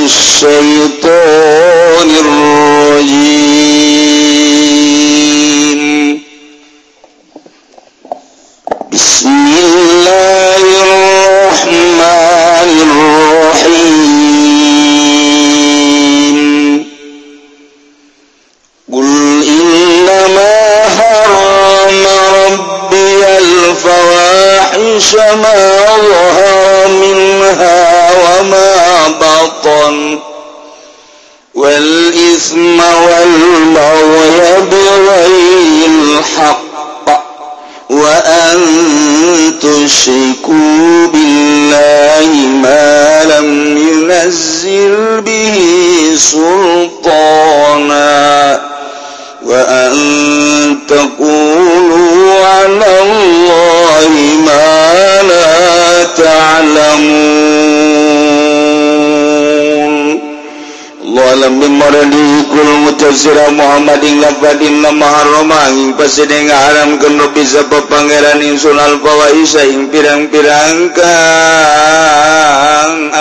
الشيطان الرجيم بسم الله الرحمن الرحيم قل إنما حرم ربي الفواحش ما ظهر منها وما بطن والإثم والبغي بغير الحق وأن تشركوا بالله ما لم ينزل به سلطانا وأن تقولوا على الله ما لا تعلمون Allah alam bimaradi kul mutasira Muhammadin lafadin nama haramah pasideng haram kenu bisa pangeran insun al-fawaisa ing pirang-pirang kang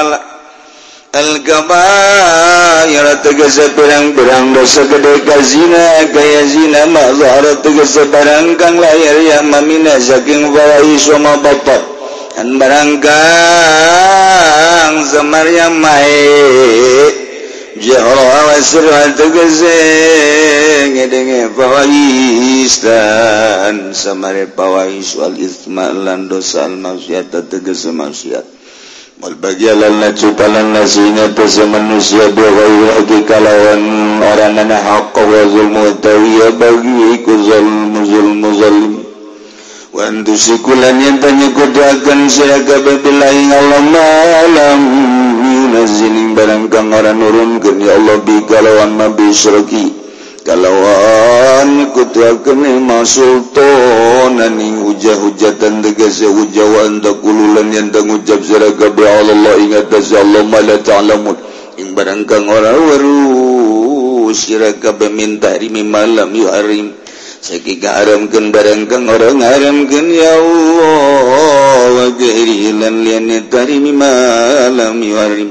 al-kabair tegese pirang-pirang dosa gede kazina gaya zina ma zahara tegese barang kang lahir ya mamina saking fawais wa batat dan barang kang samarya mae jahra wasra tegese ngedenge fawais dan samare fawais wal itsma lan dosa al maksiat tegese maksiat wal bagialan nacupalan nasinya tese manusia biwai kalawan orangana haqq wa zulmu tawiya bagi iku zulmu zalim wa antusikulan yang tanya kudakan siaga billahi Allah malam yunazzilin barang kang ora nurunkeun ya Allah bi kalawan mabi syirki kalawan kutuakeun masultanan ing hujah-hujatan tegese hujawan takululan yang tangucap siraga bi Allah ingat Allah mala ta'lamun ing barang kang ora weruh siraga minta rimi malam yuharim sakika haramkeun barang kang ora ngaramkeun ya Allah wa ghairilan lian tarimi malam yuharim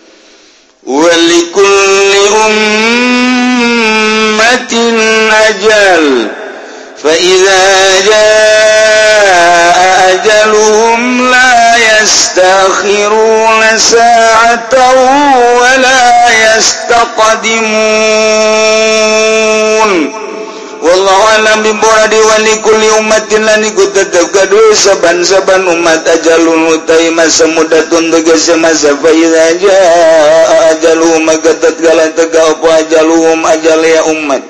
walikulli ummatin ajal fa idza jaa ajaluhum la yastakhiruna sa'atan wa la yastaqdimun wallahu alam bimuradi wa likulli ummatin lan iku tetep kadue saban-saban umat ajalun utai masa mudatun tegese masa fa idza jaa ajaluhum maka tatkala tega apa ajaluhum ajal ya umat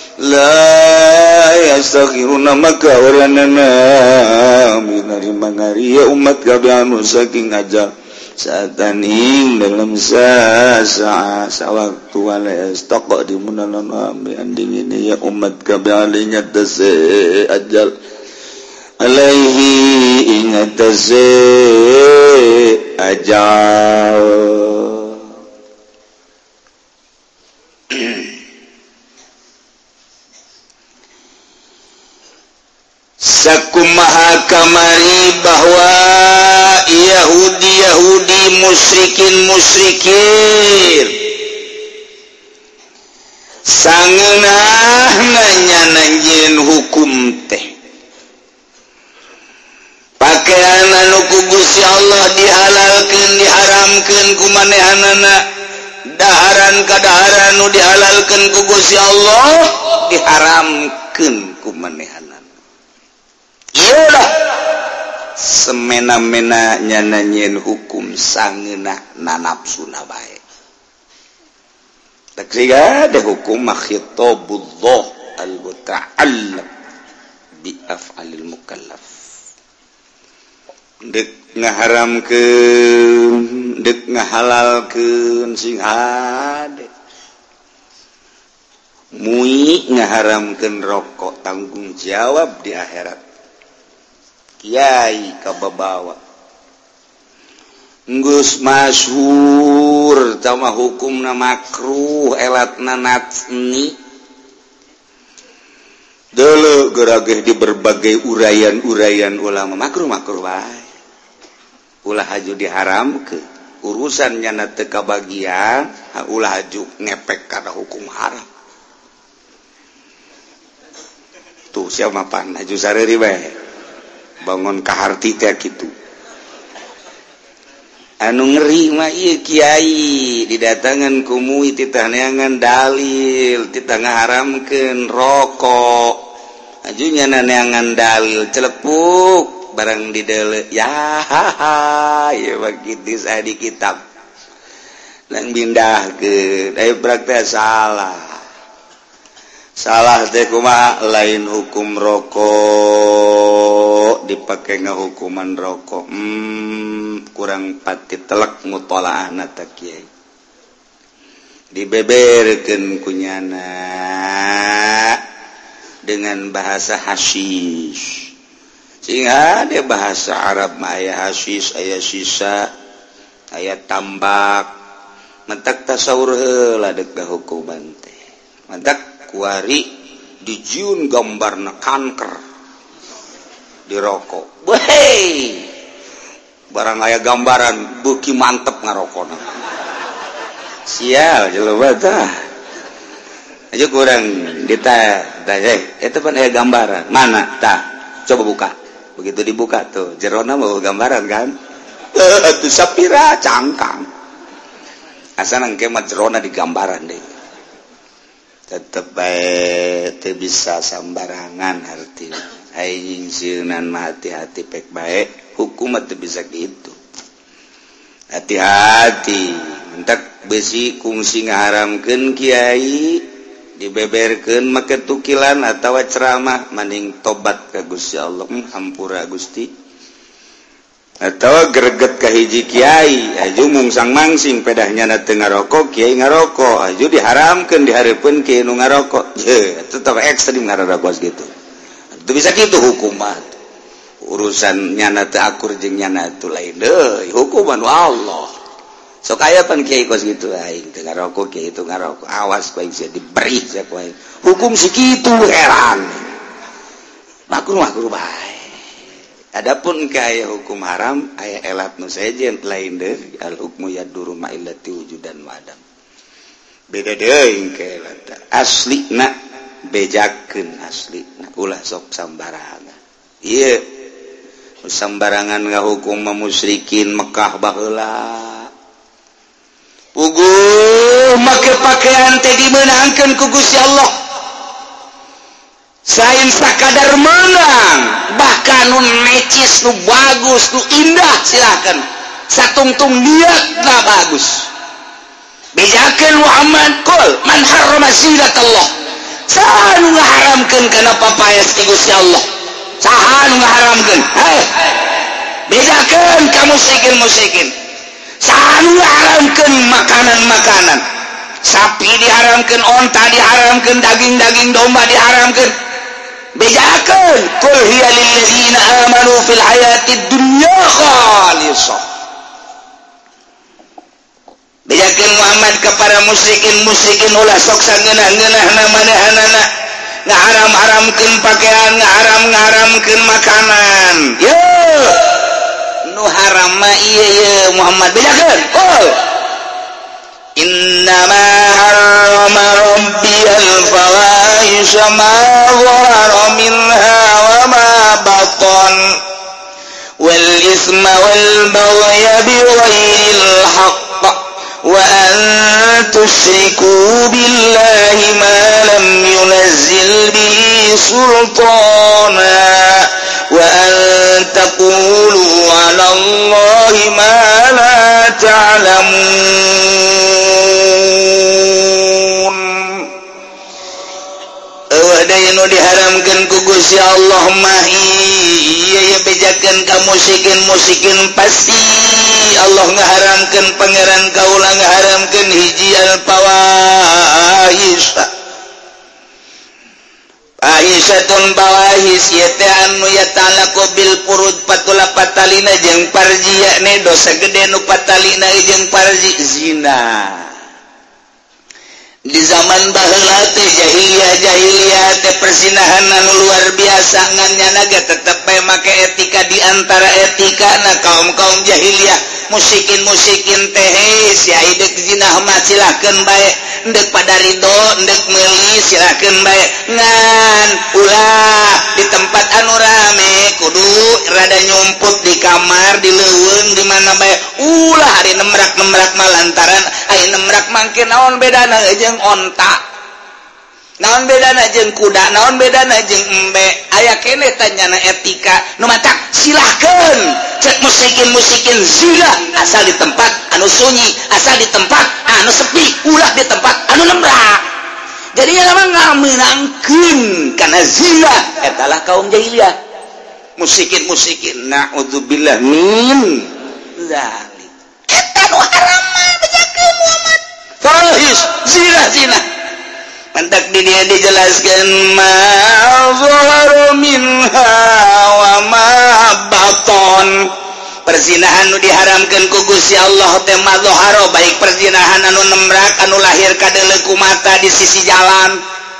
la yastakhiruna maka oranana minari mangari ya umat kabeh anu saking ajal saatan ing dalam sawaktu wala yastaqdimun ambi anding ini ya umat kabeh alinya tase ajal alaihi ingat tase ajal sakumaha kamari bahwa Yahudi musyrikin sangeunah nanya-nanyain hukum teh pakaian anu ku Gusti Allah dihalalkeun diharamkeun ku manehanana daharan kadaharan nu dihalalkeun ku Gusti Allah diharamkeun ku manehanana iyalah semena-mena nyananyin hukum sangeunah nanapsuna bae tak siga ada hukum khitabullah al-muta'allam bi af'alil mukallaf dek ngaharamkeun dek ngahalalkeun sing hade mui ngaharamkeun rokok tanggung jawab di akhirat kiai kababawa geus masyhur sama hukumna makruh elatna natsni deuleu gerageh di berbagai uraian-uraian ulama makruh wae ulah haju diharamkeun urusannya na teka bagian ulah haju ngepek karena hukum haram tuh siapa pan haju sareri bae bangun kaharti teh gitu anu ngeri mah ieu kiai didatangan ku muid titah neangan dalil titah ngaharamkeun rokok ajunya neangan dalil celepuk barang dideuleu ya ya begitu saya di kitab lang bindahkeun aya praktek salah teh kumaha lain hukum rokok dipakai ngahukuman rokok kurang pati telek mutolaahna ta kiai dibeberkeun kunyana dengan bahasa hasyish sehingga ada bahasa Arab mah aya hasyish aya sisa aya tambak mentak tasawur heula deuk hukuman teh mentak kuari dijieun gambarna kanker di rokok wehey barang aya gambaran beuki mantep ngarokona sial jelema tah aja kurang ditanya eta pan aya gambaran mana tah coba buka begitu dibuka tuh jerona mau gambaran kan tuh sapira cangkang asa nang kemat jerona di gambaran deh tetep bae teu bisa sambarangan arti aing sieunan mah hati-hati pek bae hukum teu bisa gitu hati-hati mentak besi kungsi ngaharamkeun kiai dibeberkeun make tukilan atawa ceramah mending tobat ka Gusti Allah hampura Gusti atau greget ka hiji kiai aju mungsang mangsing pedahnya na teu ngarokok kiai ngarokok aju diharamkeun dihareupeun kiai nu ngarokok je tetep ekstrim ngarokok gitu teu bisa kitu hukuman urusan nyana teu akur jeung nyana teu lain deui hukuman Allah sok aya pan kiai kos gitu aing teu ngarokok kiai itu ngarokok awas ku aing sia diberi sia ku aing hukum sakitu heran makruh bae. Adapun kaya hukum haram aya elat nu sejen lain deui al hukmu yaduru ma illati wujudan wa adam beda deui ke elat aslina bejakeun aslina ulah sok sambarangan ieu sambarangan ngahukum musyrikin Mekah baheula puguh make pakaian teh dimeunangkeun ku Gusti Allah sain sakadar menang bahkan nu necis nu bagus nu indah silakan satungtung niatna bagus bejakeun Muhammad qul man harrama zinatallah saha nu ngaharamkeun kana papaes ti Gusti Allah saha nu ngaharamkeun bejakeun ka musyrikin saha nu ngaharamkeun makanan sapi diharamkeun onta diharamkeun daging domba diharamkeun bejakeun qul hiya lil ladzina amanu fil hayatid dunya khalisah bejakeun Muhammad kepada musyrikin ulah sok sangeunah-ngeunahna manahanana ngaharam-haramkeun pakaian ngaharam-haramkeun makanan yo nu haram mah ieu Muhammad bejakeun qul innama harrama rabbiyal fawahisha ma dhahara minha wa ma batan wal isma wal baghya bighairil haqq wa an tusyriku billahi ma lam yunazzil bihi sultana wa an taqulu 'ala Allahi ma la ta'lamun wadayanu diharamkeun ku Gusti Allah mah ieu bejakeun ka musyrikin pasti Allah ngaharamkeun pangeran kaula ngaharamkeun hiji al-fawahish Aisyatun bawahis yete anu yatalaqu bil furud patula patalina jeung parji yakne dosa gede nu patalina jeung parji zina di zaman baheula teh jahiliyah teh persinahan anu luar biasa ngannya naga tetep make etika di antara etika na kaum jahiliyah musikin teh si aidek zinah mah silakeun bae endek pada ridho endek meuli silakeun bae ngan ulah di tempat anu rame kudu rada nyumput di kamar di leuweung di mana bae ulah hari nemrak mah lantaran aya nemrak mangke naon bedana jeung onta naon bedana jeung kuda naon bedana jeung embe aya keneh tanyana etika nu matak silahkeun cek musikin zina asal di tempat anu sunyi asal di tempat anu sepi ulah di tempat anu nembrak jadi lama ngameunangkeun kana zina etalah kaum jahiliyah musikin naudzubillah min zalik eta nu haram bejakeun Muhammad fahish zina mantak di dia dijelaskan ma zahara minha wa ma baton perzinahan nu diharamkeun ku Gusti Allah teh ma zahara baik perzinahan anu nembrak anu lahir kadeuleu ku mata di sisi jalan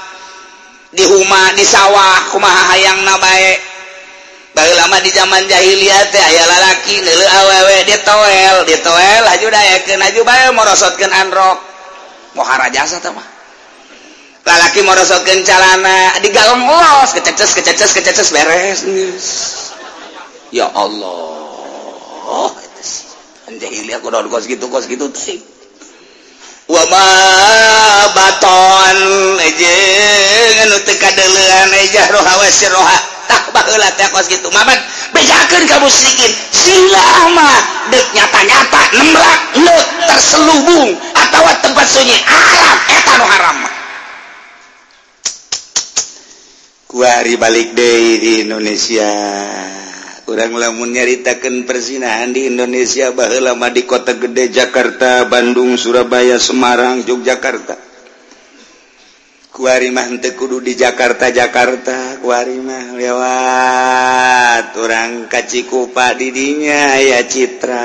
di huma di sawah kumaha hayangna bae baheula mah di zaman jahiliyah teh aya lalaki neuleuh awewe ditoel haju dayakeun haju bae morosotkeun androk moha jasa teh mah lalaki morosotkeun calana digalong los kececes beres ya Allah eta sih jahiliyah kudu kos gitu teh wa ma baton jeung anu teu kadeuleuan ejah roha wa sirroha tah baheula teh kos kitu maman bejakeun ka musyrikin silah mah deuk nyata-nyata nembrak leuk terselubung atawa tempat sunyi alam eta nu haram kuari balik deui di Indonesia urang lamun nyaritakeun persinahan di Indonesia baheula mah di kota gede Jakarta, Bandung, Surabaya, Semarang, Yogyakarta kuari mah henteu kudu di Jakarta kuari mah lewat urang ka Cikupa di dinya aya Citra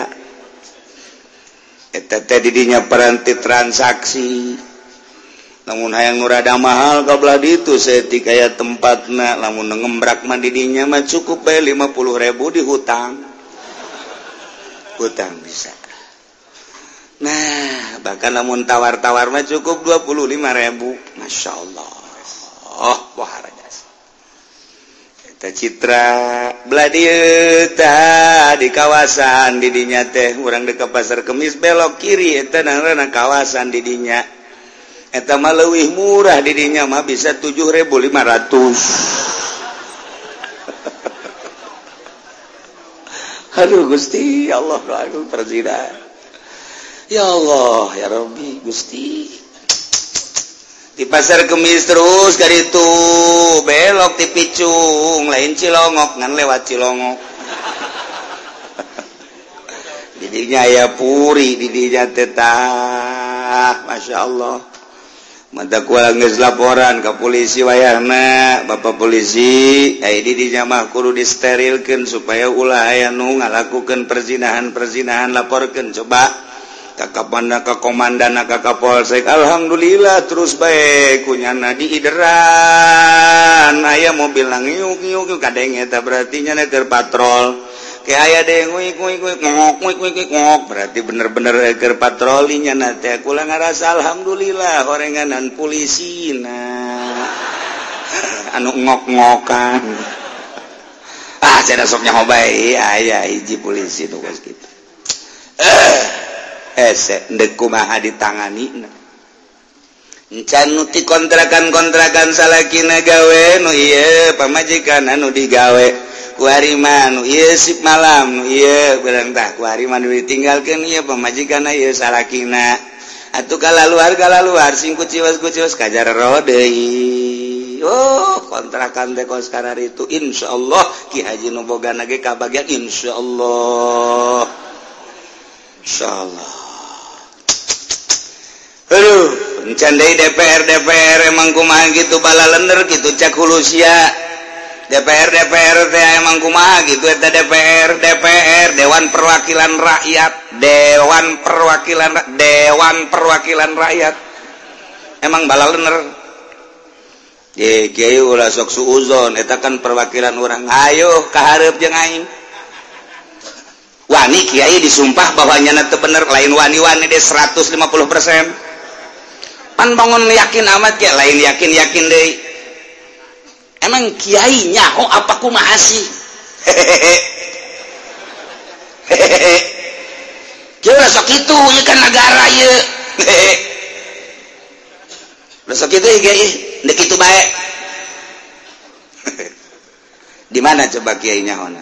eta teh di dinya peranti transaksi namun hayang nu rada mahal kabelah ditu setik aya tempatna lamun ngembrak mah di dinya mah cukup bae 50.000 di hutang bisa nah bahkan lamun tawar mah cukup 25.000 masyaallah wah rajas eta Citra belah dieu tah di kawasan di dinya teh urang dekat pasar Kemis belok kiri eta nangna kawasan di dinya eta mah leuwih murah di dinya mah bisa 7.500 aduh Gusti Allah aduh perzina ya Allah ya Rabbi Gusti di pasar Kemis terus dari itu belok di Picung lain Cilongok ngan lewat Cilongok di dinya aya puri di dinya tetah Masya Allah mata kuala geus laporan ke polisi wayahna Bapak polisi di dinya mah kudu disterilkeun supaya ulah aya nu ngalakukeun perzinahan laporkeun coba ka Kapolda ka Komandan ka Kapolsek alhamdulillah terus bae kunyana diideran aya mobil ngiuk kadeng eta berarti nya keur patrol kayak aya deh ngok berarti bener-bener keur patrolinya nanti aku lah ngerasa alhamdulillah horenganan polisi anu ngok-ngokan saya sok nyahoba aya hiji polisi tuh kos gitu ndek kumaha ditangani encan nuti kontrakan salakina gawe nu ieu pamajikan anu digawe kuariman ieu sip malam ieu barang tah kuariman ditinggalkeun ieu pamajikan ieu salakina atuh kalaluar sing kuciwas kajar deui kontrakan teh kos karar itu insyaallah Ki Haji nu bogana ge kabagian insyaallah aduh encan deui DPR emang kumaha gitu bala lender gitu cak hulu sia DPR teh emang kumaha gitu eta DPR Dewan Perwakilan Rakyat emang bala lener ye kiai ulah sok suuzon eta kan perwakilan orang ayo kahareup jeung aing wani kiai disumpah bahwa nyana teu bener lain wani-wani deh 150% pan bangun yakin amat ya lain yakin deui emang kiai nyaho apa kumaha sih kiai ulah sok kitu ieu kan negara ieu ulah sok kitu kiai dek kitu bae di mana coba kiai nyahona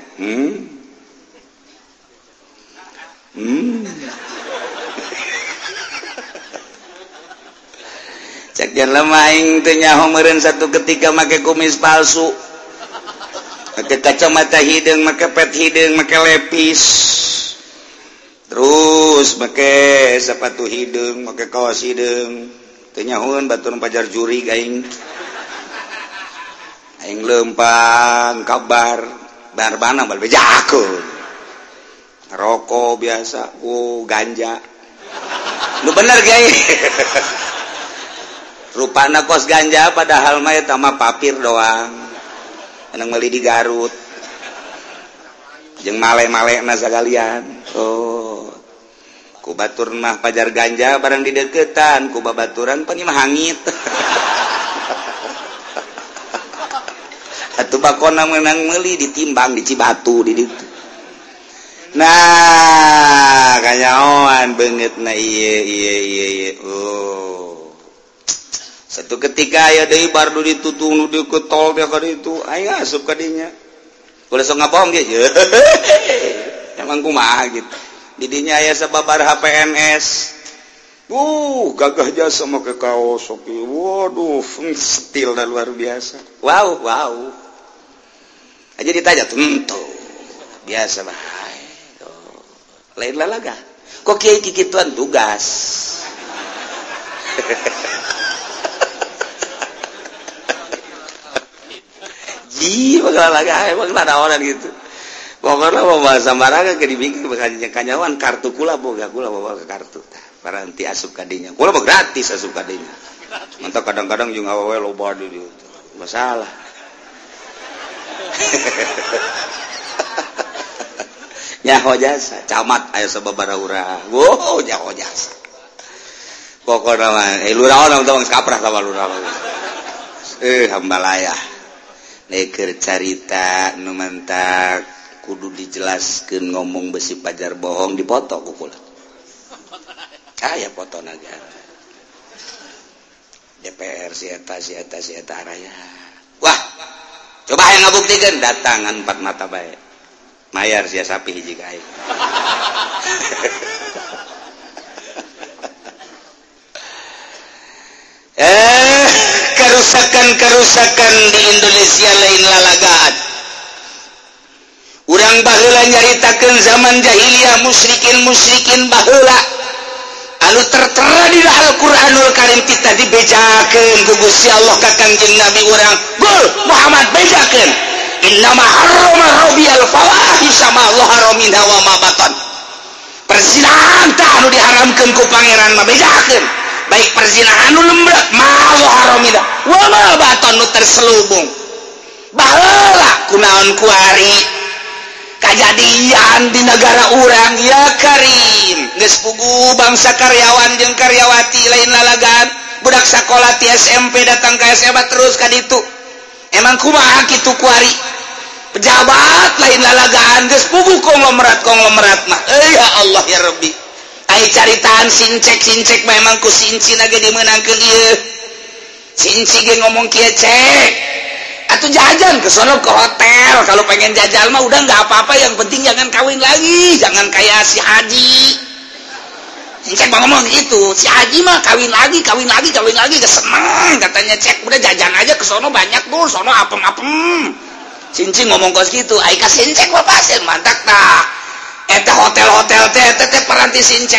cek jangan lemaing teu nyaho meureun satu ketika make kumis palsu make kacamata hideung make pet hideung make lepis terus make sepatu hideung make kaos hideung teu nyahoeun batur pajar juri aing lempang kabar barbana bal bejakeun rokok biasa ganja nu bener kiai rupana kos ganja padahal mah eta mah papir doang anu meuli di Garut jeung male-malena sagalian ku batur mah pajar ganja barang di deukeutan ku babaturan pan mah hangit atuh bakona meunang meuli ditimbang di Cibatu di ditu nah kanyahoan beungeutna ieu satu ketika aya deui bardu ditutung nu deukeut tol teh ka ditu aing asup ka dinya ulah sok ngabohong ge emang kumaha gitu di dinya aya sababaraha PNS gagah jasa make kaos oke waduh stil dan luar biasa wow aja ditanya tuh biasa mah lain lalaga kok kiai kikituan tugas ji bakal lalaga emang ada orang gitu pokoknya mau bahasa maranga ke dibikin kanyawan kartu kula boga kula bawa ke kartu para nanti asup kadinya kula mah gratis asup kadinya mantap kadang-kadang juga awewe loba di dieu masalah nyaho jasa camat aya sababaraha urang nyaho jasa pokona mah lurah urang tong kaprah sama lurah hambalayah neker carita nu mantak kudu dijelaskeun ngomong besi pajar bohong dipoto ku kula aya fotona ge DPR si eta raya wah coba aya ngabuktikeun datangan 4 mata bae mayar sia sapi hiji ka aing kerusakan di Indonesia lain lalagaan urang baheula nyaritakeun zaman jahiliyah musyrikin baheula anu tertera di Al-Qur'anul Karim kita dibejakeun ku Gusti Allah ka Kangjeng Nabi urang gul Muhammad bejakeun innama harrama rabbiyal fawahisha ma dhahara minha wa ma batan perzinahan tah anu diharamkeun ku pangeran mah bejakeun baik perzinahan nu lembek ma dhahara minha wa ma batan nu terselubung baheula kunaon kuari kajadian di negara urang ya Karim geus pugu bangsa karyawan jeung karyawati lain lalagan budak sakola ti SMP datang ka SMA terus ka ditu emang kumaha kitu kuari pejabat lain lalagaan geus pugu konglomerat mah ya Allah ya Rabbi ai caritaan sincek memang ku sincina ge dimeunangkeun ieu cinci ge ngomong kieu cek atuh jajan ke sono ke hotel kalau pengen jajal mah udah nggak apa-apa yang penting jangan kawin lagi jangan kayak si Haji cek ngomong gitu si Haji mah kawin lagi keseneng katanya cek udah jajan aja ke sono banyak tuh sono apem cincin ngomong kos gitu aika sincek bapak pasien mantak tak eta hotel teh peranti sincek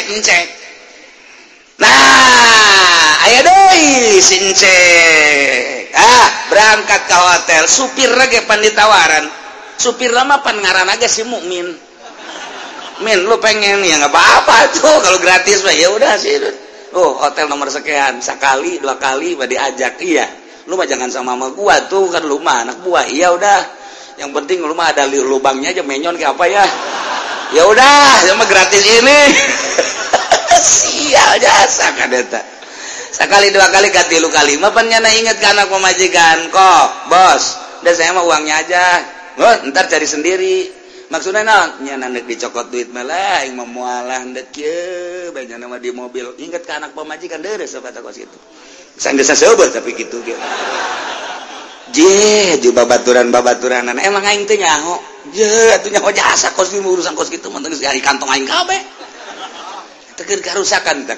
nah aya deui sincek berangkat ke hotel supir lagi pan ditawaran supir lama pan ngaran aja si Mukmin min lu pengen ya nggak apa-apa tuh kalau gratis mah ya udah sih hotel nomor sekian, sekali 2 kali diajak. Iya, lu mah jangan sama gua tuh, kan lu mah anak buah. Iya udah, yang penting lu mah ada lubangnya aja, menyon kayak apa ya. Ya udah, cuma gratis ini. Sial jasa kan eta. Sekali 2 kali katilu kali mah pan nyana inget ke anak pemajikan. Kok, bos, udah saya mah uangnya aja. Ntar cari sendiri. Maksudnya naon? Nyana nek dicokot duit mah lah, yang memualah ndek ye, banyak nama di mobil. Inget ke anak pemajikan deres kata kos itu. Sanggeus saeubeut tapi kitu ge. Di babaturan-babaturan emang aing teh nyaho. Atuh nyaho jasa kos di urusan kos kitu mah geus di kantong aing kabeh. Teu karusakan.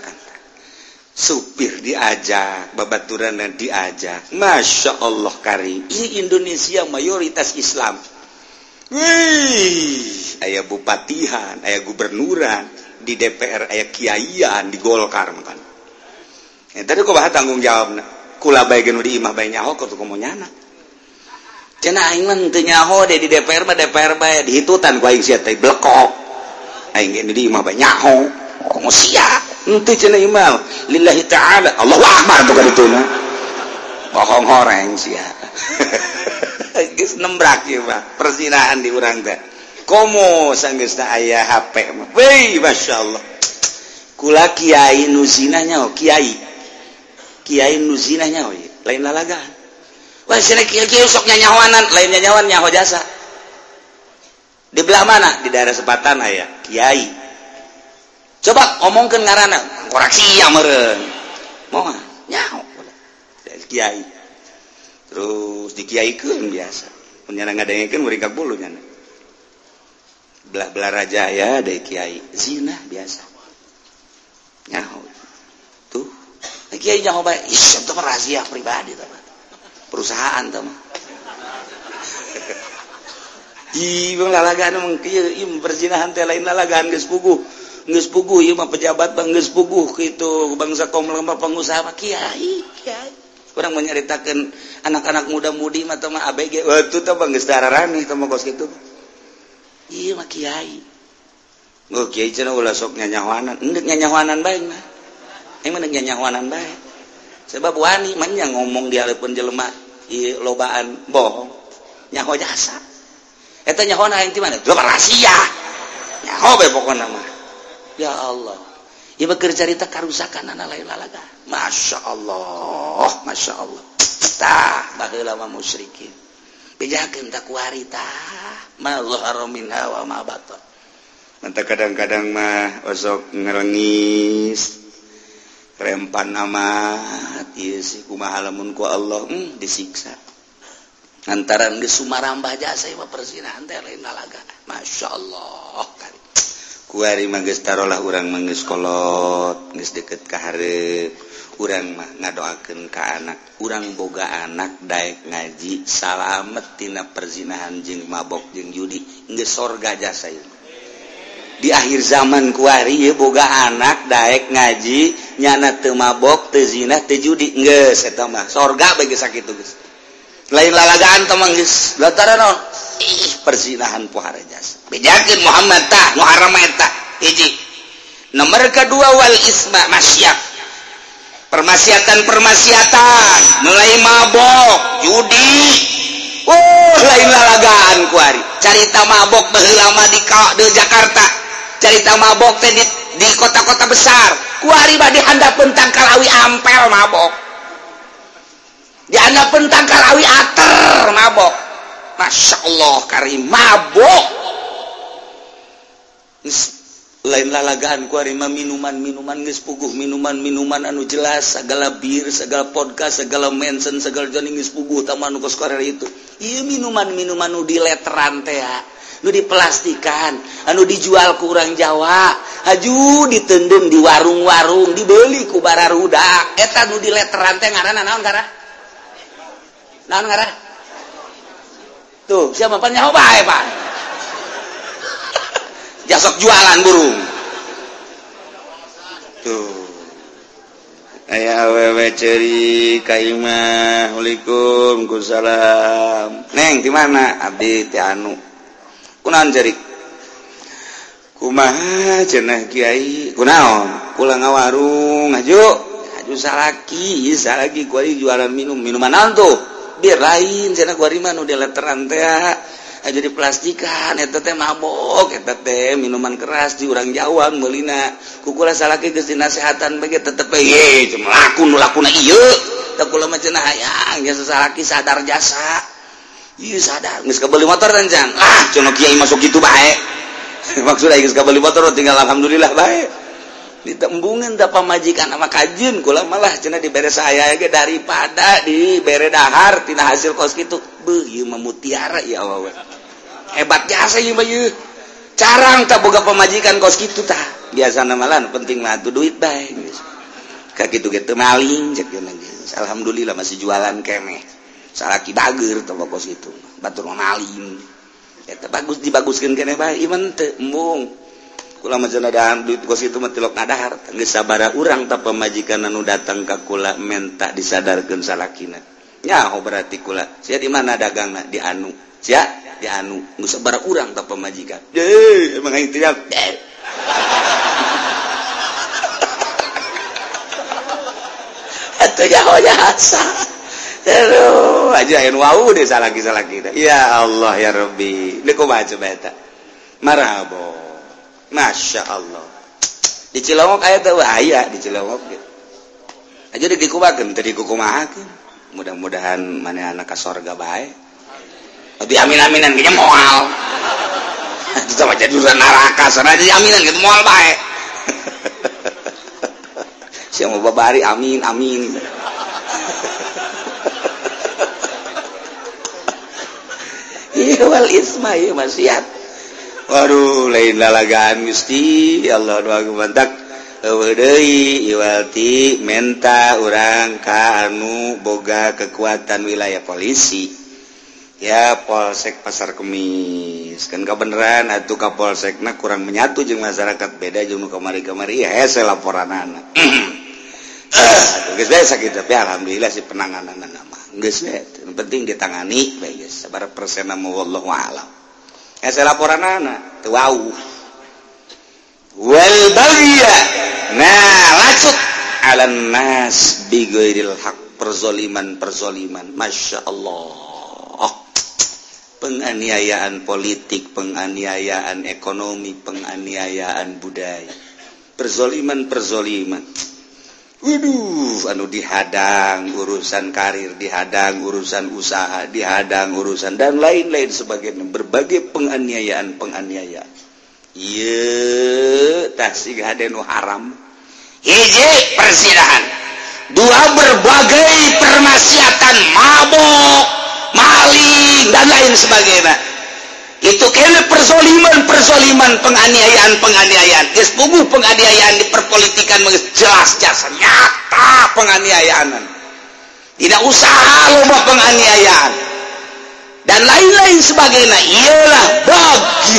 Supir diajak, babaturan dan diajak. Masya Allah karim. Ini Indonesia mayoritas Islam. Wih, aya bupatihan, aya gubernuran, di DPR aya kiaian, di Golkar makan. Tadi kok bahas tanggung jawab na. Kula bae geus di imah bae nyaho kok tuh nyana. Cenah aing mah teu nyaho deh di DPR bae dihitutan ku aing sia teh blekok. Aing ge di imah bae nyaho. Komo sia. Henteu cenah imah. Lillahi ta'ala. Allahu akbar tuh ka ditu na. Bohong horeng sia. Geus nembrak ieu mah perzinahan di urang teh. Komo sanggeus teh aya HP mah. Weh, masyaallah. Kula kiai nu zina nyaho, kiai nu zina nyaho lain lalagaan. Wah, cenah kiai sok nyanyawanan, lain nyanyawan nyaho jasa. Di belah mana? Di daerah Sepatan aya kiai. Coba omongkeun ngaranna, koreksi ya meureun. Moal nyaho kiai. Terus dikiaikeun biasa. Mun nyana ngadengekeun murid ka bulu nyana. Belah-belah raja ya ada kiai zina biasa. Nyaho. Tuh. Kiai nyaho bae, itu mah rahasia pribadi tah. Perusahaan tah mah. Bang lalagaan mah kieu perzinahan teh lain lalagaan geus puguh. Geus puguh ieu mah pejabat bang geus puguh kitu bangsa kaum lemah pengusaha mah kiai. Orang menyaritakan anak-anak muda-mudi mah teh mah ABG. Itu teh bang geus dararani teh mah kos kitu. Ieu mah kiai. Oh kiai cenah ulah sok nyanyawanan. Endek nyanyawanan bae mah. Emang endek nyanyawanan bae. Sebab wani mah nya ngomong di haleupun jelema ieu lobaan bohong. Nyaho jasa. Eta nyahoana aing ti mana? Loba rahasia. Nyaho bae pokona mah. Ya Allah. Ieu mah keur carita karusakan ana lain lalaga. Masya Allah. Tah baheula mah musyrikin. Bejakeun tak kuari tah. Ma zahara minha wa ma batan. Manta kadang-kadang mah osok ngerengis. Rempan amat ieu sih kumaha lamun ku Allah disiksa. Antaran geus sumarambah jasa ieu mah perzinahan teh lain lalaga. Masya Allah. Kuari mah geus tarolah urang mah geus kolot, geus deukeut ka hareup. Urang mah ngadoakeun ka anak, urang boga anak daek ngaji, salamet tina perzinahan jeung mabok jeung judi, geus sorga jasa ieu. Di akhir zaman kuari ieu boga anak daek ngaji, nyana teu mabok, teu zina, teu judi, geus eta mah sorga bae geus sakitu geus. Lain lalagaan teh mah geus lantaran naon? Perzinahan pohara jasa. Bejakeun Muhammad tah nu haram eta hiji. Nomor kedua wal isma masyaf. Permaksiatan mulai mabok judi lain lalagaan kuari carita mabok baheula mah di Jakarta carita mabok teh di kota-kota besar kuari mah dihandapeun tangkal awi ampel mabok dihandapeun tangkal awi ater mabok. Masya Allah karim mabok lain lalagaan kuari mah minuman geus puguh minuman anu jelas segala bir segala podcast segala mention segala joning geus puguh tamah nu kos karere itu ieu minuman nu di letteran teh nu diplastikan anu dijual ku urang Jawa haju diteundeun di warung-warung dibeli ku bararudak eta nu di letteran teh ngaranna naon ngaran tuh siapa pan nyaho bae Pak jasok jualan burung tuh aya awewe ceuri ka imah Waalaikum salam neng di mana abdi teh anu kunaon ceuri kumaha cenah kiai kunaon kula ngawarung aju salaki kuari jualan minuman tuh biar lain cenah kuari mah nu dileteran teh aja di plastikan eta teh mabok eta teh minuman keras di urang Jawa meulina kukula salaki geus dinasehatan bage tetep ye lakuna ieu teh kula mah cenah hayang geus salaki sadar jasa ieu sadar geus kabeli motor rencang cenah kiai masuk kitu bae maksudna geus kabeli motor tinggal alhamdulillah bae ditembungan da pamajikan sama kajeun kula malah cenah dibere saya ge daripada dibere dahar tina hasil kos kitu beuh ieu mah mutiara ya Allah hebat jasa ieu mah ieu carang tak boga pamajikan kos kitu tah biasana malah penting mah atuh duit bae geus ka kitu-kitu maling cek geus alhamdulillah masih jualan keneh salaki bager teh kos kitu batur maling eta bagus dibaguskeun keneh bae iman teu embung kula mah cenah dahar duit kos itu mah tilok ngadahar geus sabaraha urang tah pamajikan anu datang ka kula menta disadarkeun salakina nyaho berarti kula sia di mana dagangna di anu sia di anu geus sabaraha urang tah pamajikan emang aing teh atuh nyaho jasa aduh aja anu wau deh salaki ya Allah ya Rabbi deuk kumaha coba eta marhaba Masya Allah di Cilongok aya teh aya di Cilongok gitu aja dikumahakeun teh dikumahakeun mudah-mudahan maneh anak ka sorga bae tapi amin-aminan ge moal itu mah jadi urusan neraka sana jadi aminan gitu moal bae sia mau babari amin iya wal isma ieu maksiat waduh lain lalagaan Gusti Allah doa gumantak eueuh deui iwalti menta urang ka anu boga kekuatan wilayah polisi ya Polsek Pasar Kemis kan kabeneran atuh ka Polsekna kurang menyatu jeung masyarakat beda jeung nu kamari-kamari hese laporanana atuh geus bae sakitu tapi alhamdulillah si penangananna mah geus bae penting ditangani bae geus sabaraha persena mah wallahu a'lam saya laporan anak wau wal bagya nah lacut alan nas bighairil haq perzoliman Masya Allah penganiayaan politik penganiayaan ekonomi penganiayaan budaya perzoliman waduh anu dihadang urusan karir dihadang urusan usaha dihadang urusan dan lain-lain sebagainya berbagai penganiayaan ieu tah siga hade nu haram hiji perzinahan dua berbagai permaksiatan mabok maling dan lain sebagainya itu kene perzoliman penganiayaan geus puguh penganiayaan di perpolitikan jelas nyata penganiayaan tidak usaha loba penganiayaan dan lain-lain sebagainya ialah bagyu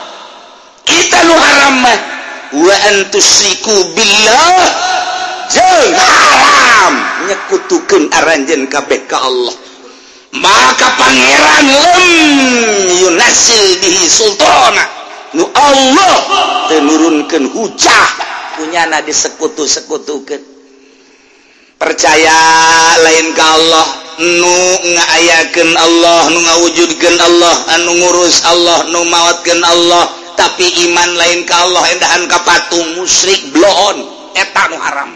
kita nu haram mah wa antusyriku billah jeung haram nyekutukeun aranjeun kabeh ka Allah maka pangeran yunasil bihi sultana nu Allah tenurunkeun hujah punyana disekutu-sekutukeun percaya lain ka Allah nu ngaayakeun Allah nu ngawujudkeun Allah anu ngurus Allah nu mawatkeun Allah tapi iman lain ka Allah endahan ka patung musyrik bloon eta nu haram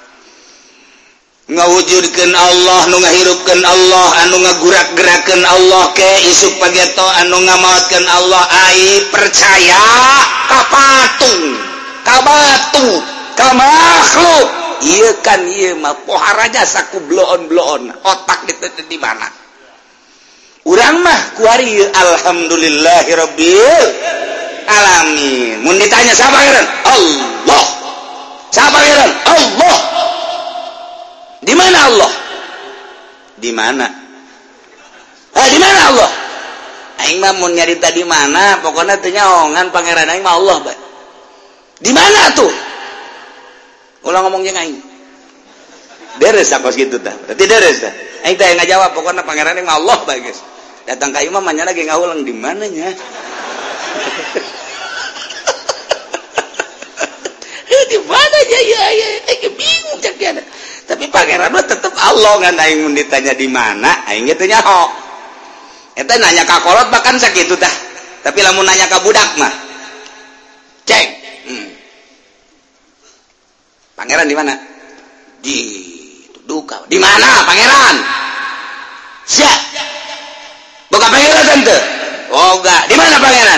ngawujudkeun Allah nu ngahirupkeun Allah anu ngagurak-gerakeun Allah ke isuk pageto anu ngamawatkeun Allah ai percaya ka patung ka batu ka makhluk ieu kan ieu mah poharaja saku bloon otak diteu di mana urang mah kuari alhamdulillahirabbil alamin mun ditanya siapa pangeran Allah siapa pangeran Allah di mana Allah? Di mana? Di mana Allah? Aing mah mun nyarita di mana, pokoknya teu nyaongan pangeran aing mah Allah, bae. Di mana tuh? Ulang ngomong jeung aing. Deres sakos kitu tah. Berarti deres tah. Aing teh ngajawab pokoknya pangeran aing mah Allah, bae, guys. Datang ka imam mah nya lagi ngaulang di mana nya? gimana ya bingung cek dia. Tapi pangeran mah tetep Allah ngan aing mun ditanya di mana aing ge teu nyaho. Eta nanya ka kolot bahkan sakitu tah. Tapi lamun nanya ka budak mah cek. Pangeran di mana? Di duka. Di mana pangeran? Siap. Boga pangeran tante. Oh enggak. Di mana pangeran?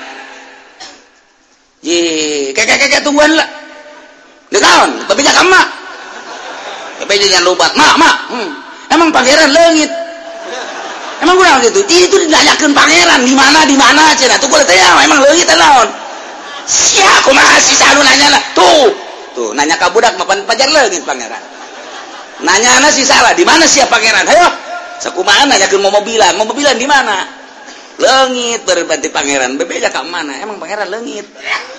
Kakek tungguan lah. Di tahun, tapi jangan mak. Tapi jangan lupa, mak. Emang pangeran leungit. Emang kurang gitu. Itu ditanyakan pangeran di mana cina. Tuh gue tanya, emang leungit naon? Siapa aku masih selalu nanya lah. Tuh nanya ke budak mapan pajar leungit pangeran. Nanya ana si salah, di mana siapa pangeran? Ayo. Sakumaha nanyakeun mau mobilan di mana? Leungit berarti pangeran. Bebeja ka mana? Emang pangeran leungit.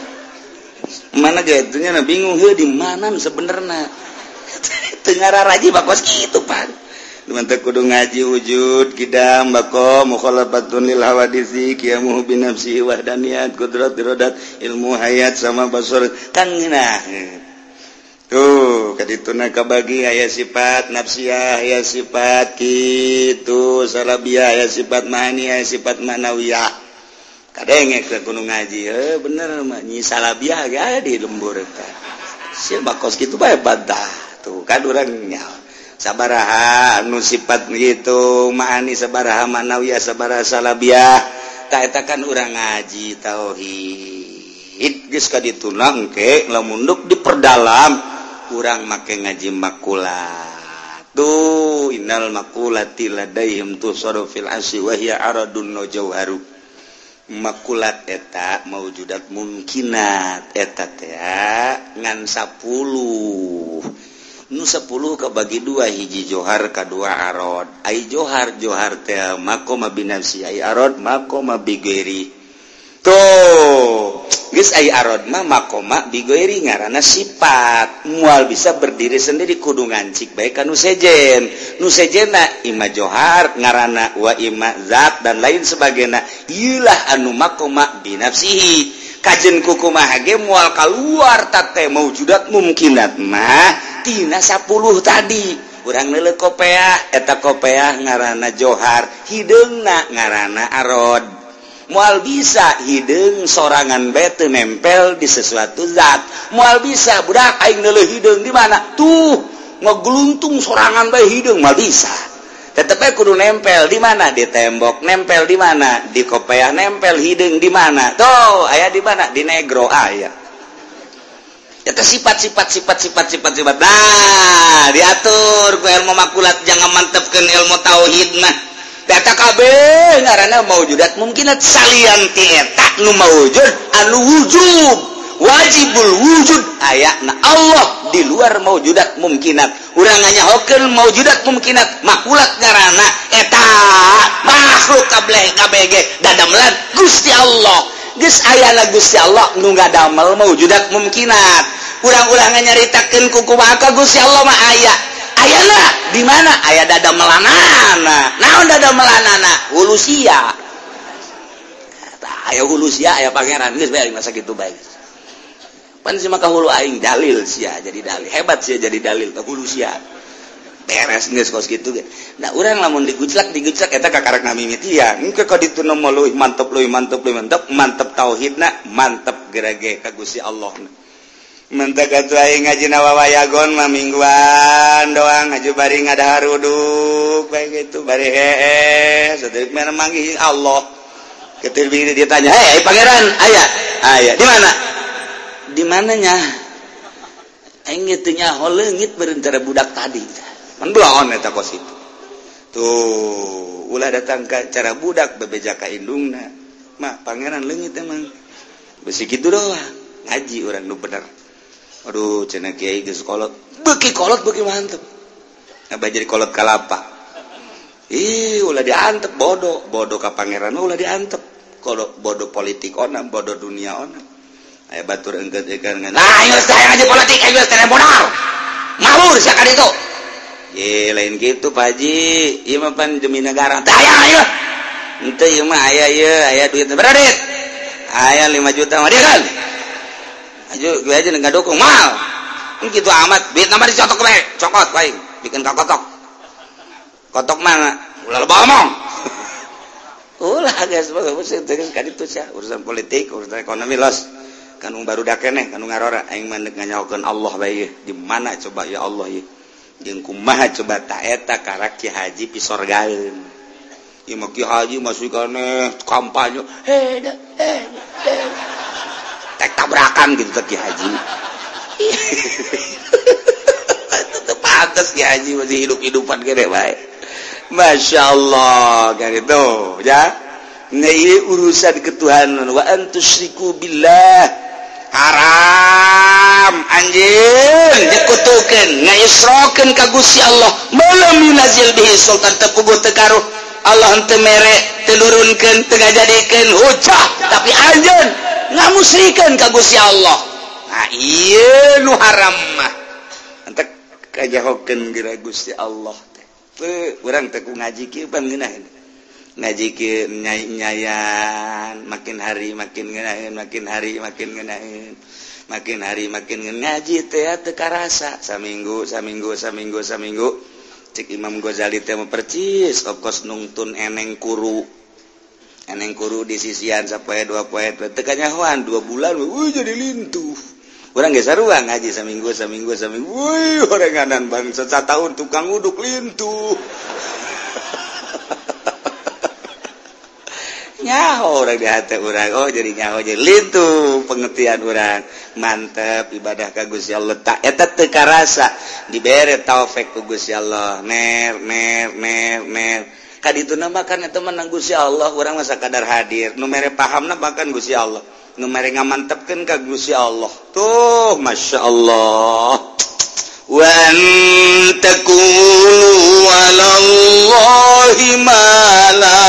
Mana gatunya na bingung he di mana sebenarnya. Teu ngararaji bakos kitu pan. Mantep kudu ngaji wujud kidam bako mukhalafatun lil hawadisi qiyamuhu bi nafsi wahdaniyat qudrat iradat ilmu hayat sama basar kan nah. Tuh kadituna kabagi aya sifat nafsiyah aya sifat kitu salabiyah aya sifat ma'ani aya sifat ma'nawiyah. Kadenge ke gunung ngaji bener mah nyi salabiyah ga di lembur teh sia bakos kitu bae badah tuh kan urang nya sabaraha anu sifat gitu ma'ani sabaraha ma'nawiyah sabaraha salabiyah ta eta kan urang ngaji tauhid geus kadituna engke lamun duk diperdalam urang make ngaji makulat tuh innal makulati ladaihim tusadu fil asyi wa hiya aradun najawharu makulat eta maujudat mungkinat eta teh ngan 10 nu 10 kabagi 2 hiji johar kadua arod ai johar teh makoma binafsi ai arod makoma bigeri tuh geus ai arod mah makoma bigeri ngaranna sifat moal bisa berdiri sendiri kudu ngancik bae ka nu sejenna ima johar ngaranna wa ima zat dan lain sebagainya ieulah anu makoma binafsihi kajen kukumaha ge moal kaluar tate maujudat mungkinat mah tina 10 tadi urang neuleuh kopeah eta kopeah ngaranna johar hideungna ngaranna arod moal bisa hideung sorangan bae teu nempel di sesuatu zat moal bisa budak aing neuleuh hideung di mana tuh ngegluntung sorangan bae hideung moal bisa tetep bae kudu nempel di mana di tembok nempel di mana di kopeah nempel hideung di mana tuh aya di mana di negro aya eta sifat nah diatur ku ilmu makulat jangan mantepkeun ilmu tauhid mah eta kabeh ngaranna maujudat mungkinat salian ti eta nu maujud anu wujub wajibul wujud ayatna Allah di luar maujudat mungkinat urang nganyahokeun maujudat mungkinat makulat ngaranna eta makhluk kabeh ge dadamelan Gusti Allah geus ayana Gusti Allah nu ngadamel maujudat mungkinat urang-urang nyaritakeun ku kumaha ka Gusti Allah mah aya ayana di mana aya dadamelanana naon dadamelanana hulusia aya hulusia aya pangeran geus bae masa kitu bae pan si maka hulu aing dalil sia jadi dalil hebat sia jadi dalil ka hulusia beres geus kos kitu ge nah urang lamun diguclak eta kakarek namimitian engke ka ditu mah leuwih mantep tauhidna mantep gerage ka Gusti Allah mantep atuh aing ngaji wawayagon mah mingguan doang ngaju bari ngadahar uduk bae kitu bari sateuk mah manggih Allah ketir bini ditanya hei pangeran aya di mananya aing teu nyaho leungit berencana budak tadi mendoaon eta kos itu tuh ulah datang ka cara budak bebeja ka indungna mah pangeran leungit emang besi kitu doang ngaji urang nu bener aduh cenah kiai geus kolot beuki mantep abah jadi kolot kalapa ulah diantep bodoh ka pangeran ulah diantep kolot bodoh politik ona bodoh dunia ona aya batur engkeut ekan nah ieu saya ngaji politik geus teh modal ngawur sakali itu lain gitu Pak Haji ieu mah pan demi negara tah aya henteu ieu mah aya duit berapa duit aya 5 juta mah dia kan aja gue aja nggak dukung mal gitu amat duit nama dicotok we cokot baik bikin kotok mana ulah lo ngomong ulah guys urusan politik urusan ekonomi los kanung baru dakene kanung ngarora aing mah nganyaokeun Allah bae di mana coba ya Allah ya jeung kumaha coba ta eta karak Ki Haji pisorgaeun ieu mah Ki Haji masuk kana kampanye tek tabrakan gitu Ki Haji itu pantas Ki Haji masih hidup-hidupan gede bae Masya Allah kan itu ya nah ini urusan ketuhanan wa antusyriku billah haram anjeun dikutukeun ngaisrokeun ka Gusti Allah malam yunazil bihi sultan tepuguh teu karuh Allah henteu mere teu nurunkeun teu ngajadikeun hujah tapi anjeun ngamusyrikeun ka Gusti Allah nah ieu nu haram mah entek kajahokeun geura Gusti Allah teh urang teh ku ngaji kieu pan ngeunaheun ngaji kieu nyayan makin hari makin ngeunaheun makin hari makin ngeunaheun makin hari makin ngaji teh teu karasa saminggu cek Imam Ghazali teh mah percis ongkos nungtun eneng kuru di sisian sapoe 2 poe teu kanyahoan 2 bulan jadi lintuh urang ge sarua ngaji saminggu woi orenganan bangsa satahun tukang uduk lintuh nyaho orang di hati orang oh jadi nyaho jadi lintuh pengertian orang mantep ibadah ka Gusti Allah tak eta teu karasa dibere taufik ku Gusti Allah mer kaditu namakan eta menang Gusti Allah urang mah sakadar hadir nu mere pahamna bahkan Gusti Allah nu mere ngamantepkeun ka Gusti Allah tuh Masya Allah wa antakulu walallahi ma la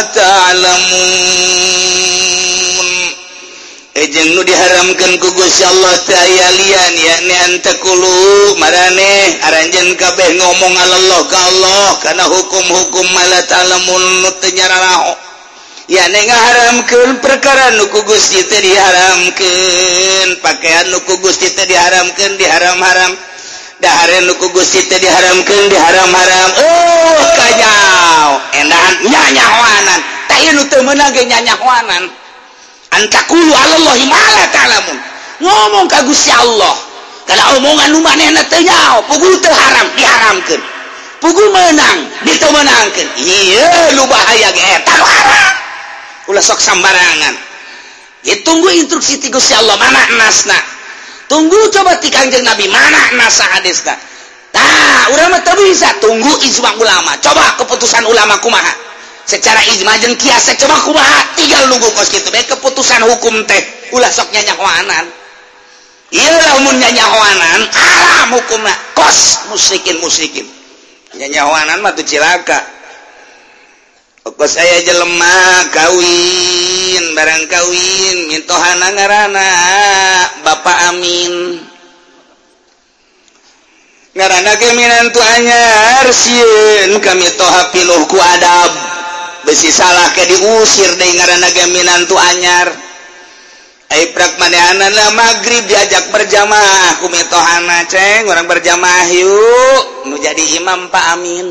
ta'lamun jeung nu diharamkeun ku Gusti Allah teh aya lian yakni antakulu marane aranjeun kabeh ngomong Allah ka Allah kana hukum-hukum ma la ta'lamun nu teu nyararaho yakni ngaharamkeun perkara nu ku Gusti teh diharamkeun pakaian nu ku Gusti teh diharamkeun diharam-haram dahare nu ku Gusti teh diharamkeun diharam-haram kanyao endahan nyanyahoanan tah ieu nu teu meunang ge nyanyahoanan antakulu alallahi ma la ta'lamun ngomong ka Gusti Allah kana omongan nu manehna teu nyaho puguh teu haram diharamkeun puguh meunang diteu meunangkeun ieu nu bahaya ge eta nu haram ulah sok sambarangan ditunggu instruksi ti Gusti Allah mana nasna tunggu coba ti Kangjeng Nabi mana nasa hadisna tah urang mah teu bisa tunggu ijma ulama coba keputusan ulama kumaha secara ijma jeung kias coba kumaha tinggal nunggu kos kitu bae keputusan hukum teh ulah sok nyanyahoanan ieu lamun nyanyahoanan haram hukumna kos musyrikin nyanyahoanan mah teu cilaka kos aya jelema kawin barang kawin mintohana ngaranna Bapak Amin ngaranna ge minantu anyar sieun kami toha piluh ku adab besi salah ke diusir deui ngaranna ge minantu anyar ai prak manehanana magrib diajak berjamaah ku mitohana ceng urang berjamaah yuk nu jadi imam Pak Amin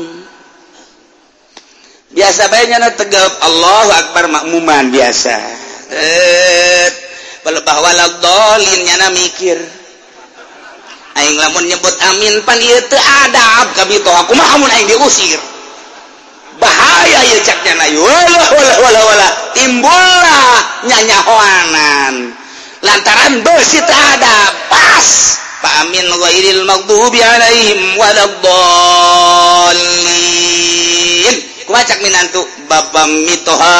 biasa bae nyana tegap Allahu Akbar makmuman biasa pelebah waladhdallin nyana mikir aing lamun nyebut amin pan ieu teu adab kami toh kumaha mun aing diusir bahaya ieu cak nyana wala timbullah nyanyahoanan lantaran beusi teu adab pas Pak Amin ghairil maghdubi alaihim waladdallin kumaha minantu Bapak mitoha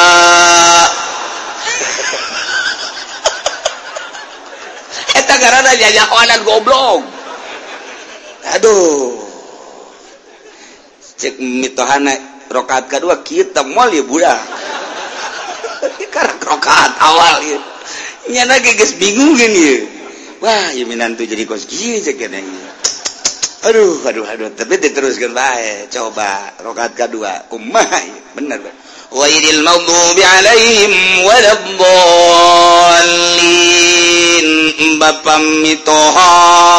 eta garana nyanyahoanan goblok aduh cek mitohana rakaat kedua kita moal ya budak karena rakaat awal ya nyana geus bingung gini wah ya minantu jadi kos kieu cek keneh aduh tapi diteruskan bae coba rakaat kedua kumaha bener ghairil maghdubi alaihim waladdallin Bapak mitoha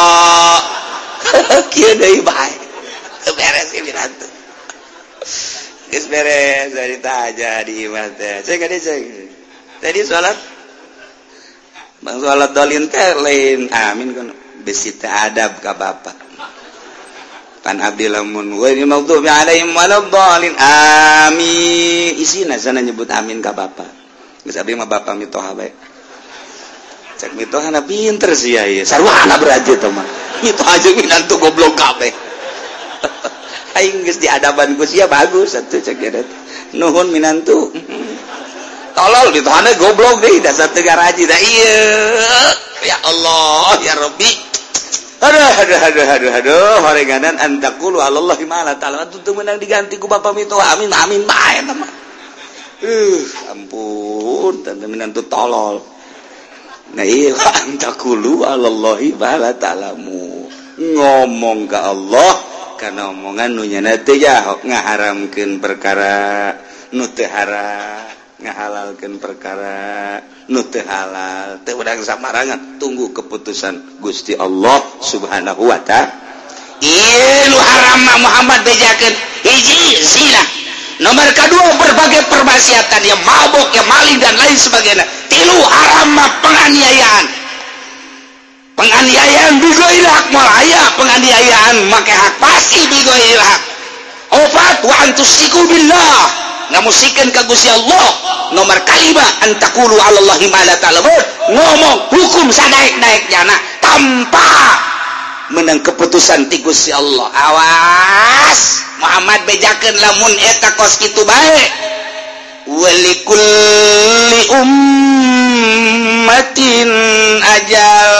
kieu deui bae beres ieu Wiranto geus beres cerita aja di imah teh cek kade cek tadi salat bang salat dolin teh lain amin kan besi teh adab ka bapak pan abdi lamun wa ni maghdubi alaihim waladdallin amin isina sana nyebut amin ka bapak geus abdi mah bapak mitoha bae cek mitoha na pinter sih ya sarwana beraja teh mah mitoha jeung minantu goblok kabeh aing geus diadaban ku sia bagus atuh cek eta nuhun minantu tolol mitohana goblok deui dasar teu garaji da ieu ya Allah ya Rabbi aduh horenganan antakulu alallahi ma la ta'ala tuh menang diganti ku bapak mitoha amin amin bae eta mah ampun tante minantu tolol nah iya antakulu alallahi ma la ta'lamu ngomong ke Allah karena omongan nu nyana teh ya ngaharamkeun perkara nu teu haram ngahalalkeun perkara nu teu halal teu urang samarangan tunggu keputusan Gusti Allah Subhanahu wa ta'ala. Ieu haram Muhammad bejakeun hiji zina, nomor kedua berbagai permaksiatan yang mabuk yang maling dan lain sebagainya. Tilu haram penganiayaan bigoil hak moal aya penganiayaan make hak pasti bigoil hak. Opat wa antusiku billah ngamusikeun ka Gusti Allah. Nomor kalima antakulu alallahi ma la ta'lamun ngomong hukum sadaek-daekna tanpa menang keputusan ti Gusti Allah. Awas Muhammad bejakeun lamun eta kos kitu bae. Walikulli ummatin ajal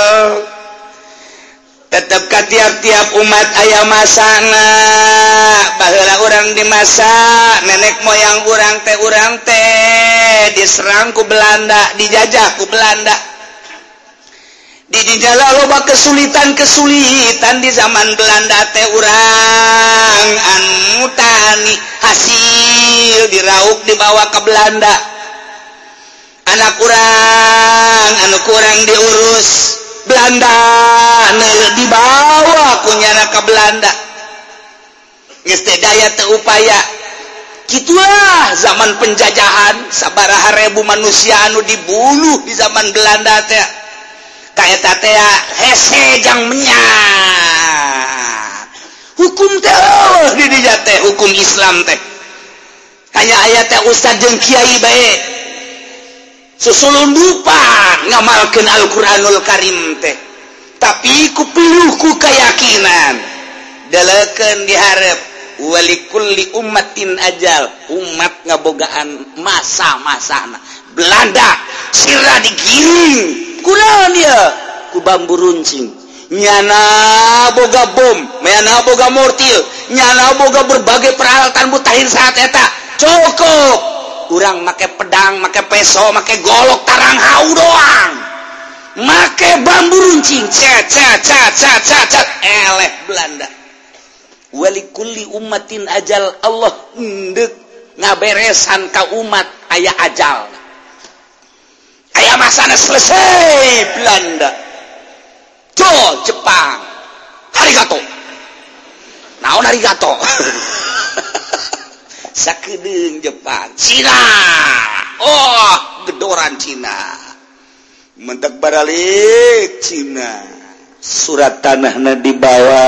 tetap ka tiap-tiap umat aya masana baheula urang di masa nenek moyang urang teh diserang ku Belanda dijajah ku Belanda dijajah loba kesulitan di zaman Belanda teh urang anu tani hasil dirauk dibawa ke Belanda anak urang anu kurang diurus Belanda dibawa kunyana ke Belanda geus teh daya teu upaya kitulah zaman penjajahan sabaraha ribu manusia anu dibunuh di zaman Belanda teh ka eta teh hese jang menyang hukum teh di dinya teh hukum Islam teh hanya aya teh ustad jeung kiai bae susulundupan ngamalkeun Al-Qur'anul Karim teh tapi kupiluh ku keyakinan dalekeun dihareup walikulli ummatin ajal umat ngabogaan masa-masana Belanda sira digiring kunaon ieu ku bambu runcing nyana boga bom nyana boga mortil nyana boga berbagai peralatan mutahin saat eta cukup urang make pedang, make peso, make golok, tarang hau doang. Make bambu runcing, cet eleh Belanda. Walikulli ummatin ajal Allah ndek ngaberesan ka umat aya ajal. Aya masana selesai Belanda. Jo Jepang. Arigato. Naon arigato? Sakedeung Jepang Cina gedoran Cina mentek baralik Cina surat tanahna dibawa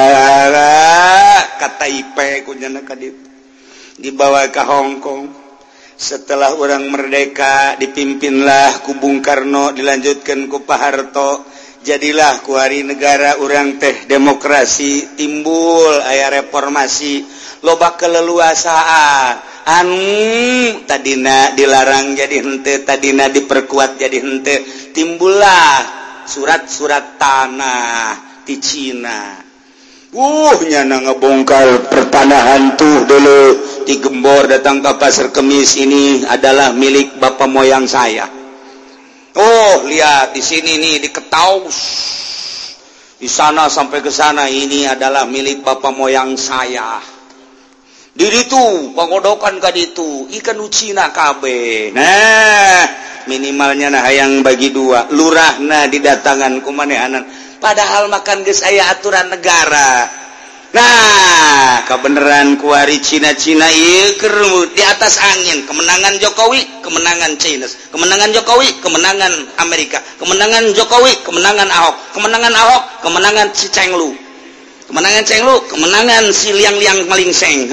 ka Taipei kunyana ka ditu dibawa ke Hong Kong setelah orang merdeka dipimpinlah ku Bung Karno dilanjutkan ku Pak Harto jadilah ku hari negara orang teh demokrasi timbul aya reformasi loba keleluasaan anu tadina dilarang jadi henteu tadina diperkuat jadi henteu timbullah surat-surat tanah di Cina nyana ngebongkar pertanahan tuh dulu digembor datang ke Pasar Kemis ini adalah milik bapak moyang saya. Lihat di sini nih diketaus di sana sampai ke sana ini adalah milik bapak moyang saya. Di ditu pangodokan ka ditu ikan ucina kabeh. Nah, minimalnya nah hayang bagi dua lurahna didatangan kumanehanan padahal makan geus aya aturan negara. Nah kebenaran kuari Cina-Cina ieu keur di atas angin, kemenangan Jokowi kemenangan China, kemenangan Jokowi kemenangan Amerika, kemenangan Jokowi kemenangan Ahok, kemenangan Ahok kemenangan si Cenglu, kemenangan Cenglu kemenangan si liang-liang melingseng.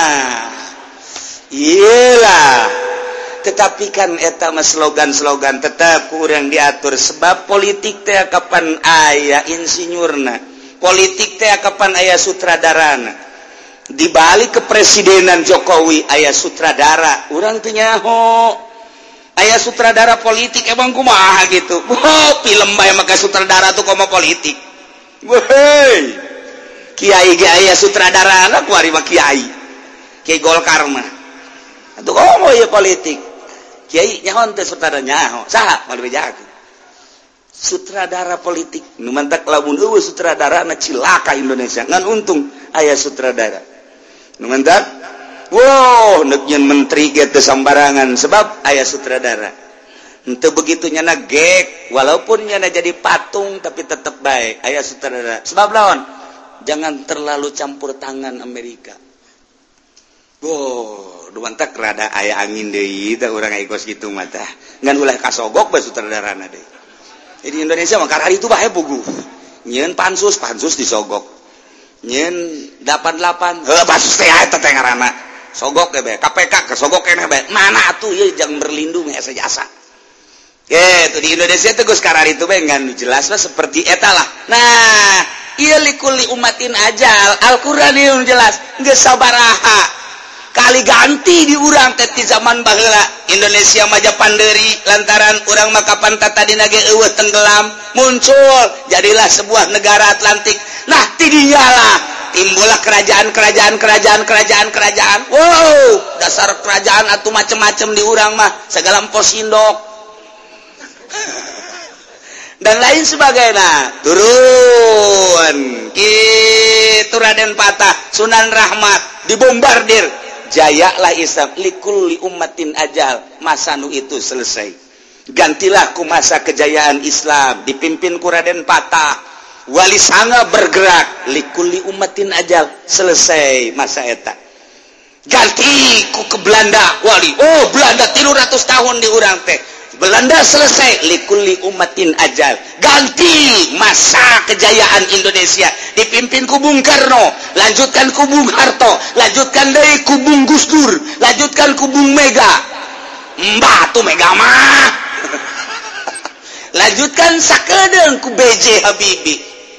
Iyalah, tetapi kan eta mah slogan-slogan tetap kurang diatur sebab politik teh kapan aya insinyurna, politik teh kapan aya sutradarana. Di balik kepresidenan Jokowi aya sutradara, urang teu nyaho. Aya sutradara politik emang kumaha gitu. Film bae make sutradara tuh komo politik. Woi. Kiai ge aya sutradarana kuari mah kiai. Kiai Golkar mah. Atuh komo ieu politik. Kiai nyaho teh sutradara nyaho. Saha malu bejakeun. Sutradara politik nu mantak lamun eueuh sutradara na cilaka Indonesia ngan untung aya sutradara nu mantak wow neuk nyeun menteri ge teu sambarangan sebab aya sutradara henteu begitu nyana gek walaupun nyana jadi patung tapi tetep bae aya sutradara sebab lawan jangan terlalu campur tangan Amerika. Wow nu mantak rada aya angin deui tah urang aingkos kitu mah tah ngan ulah kasogok bae sutradarana deui. Jadi Indonesia mah karena itu bae puguh. Nyeun pansus disogok. Nyeun 88 pansus teh eta teh ngaranna. Sogok ge bae. KPK kesogok keneh bae. Mana atuh ieu jang berlindung asa jasa. Gitu di Indonesia teh geus karena itu bae ngan jelas mah seperti eta lah. Nah, ieu likulli umatin ajal. Al-Qur'an ieu jelas geus sabaraha kali ganti di urang teh ti zaman baheula Indonesia maja panderi lantaran urang mah kapan tata dina ge eueuh tenggelam muncul jadilah sebuah negara Atlantik. Nah ti dinya lah timbullah kerajaan wow dasar kerajaan atuh macem-macem di urang mah segala empos indok dan lain sebagainya turun kitu Raden Patah Sunan Rahmat dibombardir jayalah Islam likulli ummatin ajal masa nu itu selesai gantilah ku masa kejayaan Islam dipimpin ku Raden Patah Wali Sanga bergerak likulli ummatin ajal selesai masa eta ganti ku ke Belanda wali Belanda 300 tahun di urang teh Belanda selesai likulli ummatin ajal ganti masa kejayaan Indonesia dipimpin ku Bung Karno lanjutkan ku Bung Harto lanjutkan deui ku Bung Gus Dur lanjutkan ku Bung Mega mbah tuh Mega mah lanjutkan sakedeung ku B.J. Habibie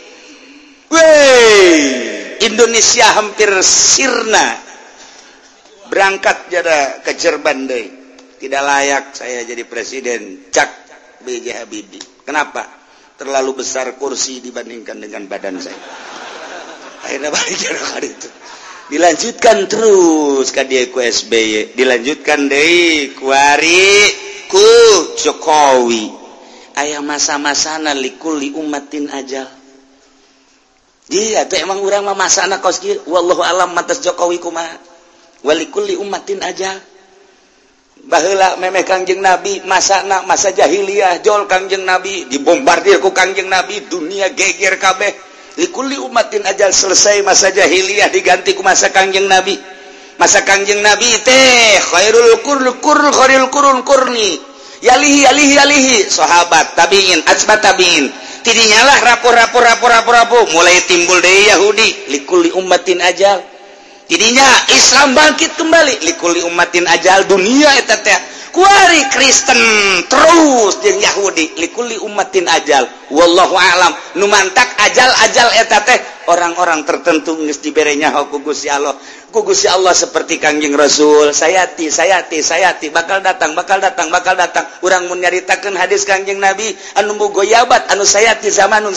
Indonesia hampir sirna berangkat jada ke Jerman deui tidak layak saya jadi presiden cak B.J. Habibie. Kenapa? Terlalu besar kursi dibandingkan dengan badan saya. Akhirnya balik ke itu. Dilanjutkan terus ka dieu ku SBY, dilanjutkan deui ku Ari ku Jokowi. Aya masa-masana likulli ummatin ajal. Iya teh emang urang mah masana kos kieu wallahu alam matas Jokowi kumaha. Walikulli ummatin ajal. Baheula memeh Kangjeng Nabi masana masa jahiliyah jol Kangjeng Nabi dibombardir ku Kangjeng Nabi dunia geger kabeh likulli ummatin ajal selesai masa jahiliyah diganti ku masa Kangjeng Nabi masa Kangjeng Nabi teh khairul qurun qurni yalihi sahabat tabiin atba tabiin tidinya lah rapor mulai timbul deui Yahudi likulli ummatin ajal jadinya Islam bangkit kembali likulli ummatin ajal dunia eta teh kuari Kristen terus jeung Yahudi likulli ummatin ajal wallahu alam nu mantak ajal eta teh orang-orang tertentu geus dibere nyaho ku Gusti Allah seperti Kangjeng Rasul sayati bakal datang urang mun nyaritakeun hadis Kangjeng Nabi anu mugoyabat anu sayati zamanun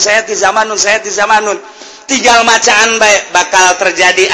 tinggal macaan baik bakal terjadi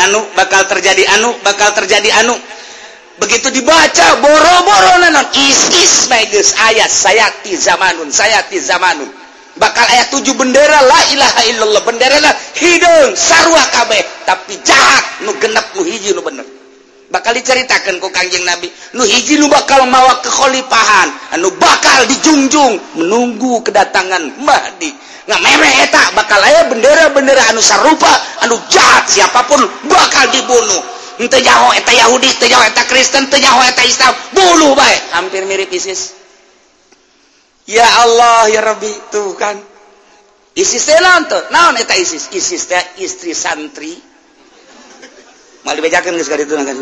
anu begitu dibaca boro-boro nanon is geus ayat sayati zamanun bakal ayat 7 bendera la ilaha illallah bendera hideung sarua kabeh tapi jahat nu genep nu hiji nu bener bakal diceritakan ku Kangjeng Nabi nu hiji nu bakal mawa kekhalifahan anu bakal dijunjung menunggu kedatangan Mahdi ngamere eta bakal aya bendera-bendera anu sarupa anu jahat siapapun bakal dibunuh teu nyaho eta Yahudi teu nyaho eta Kristen teu nyaho eta Islam bunuh bae hampir mirip ISIS ya Allah ya Rabbi tuh kan ISIS teh naon eta ISIS teh istri santri mal dibejakeun geus ka ditu kan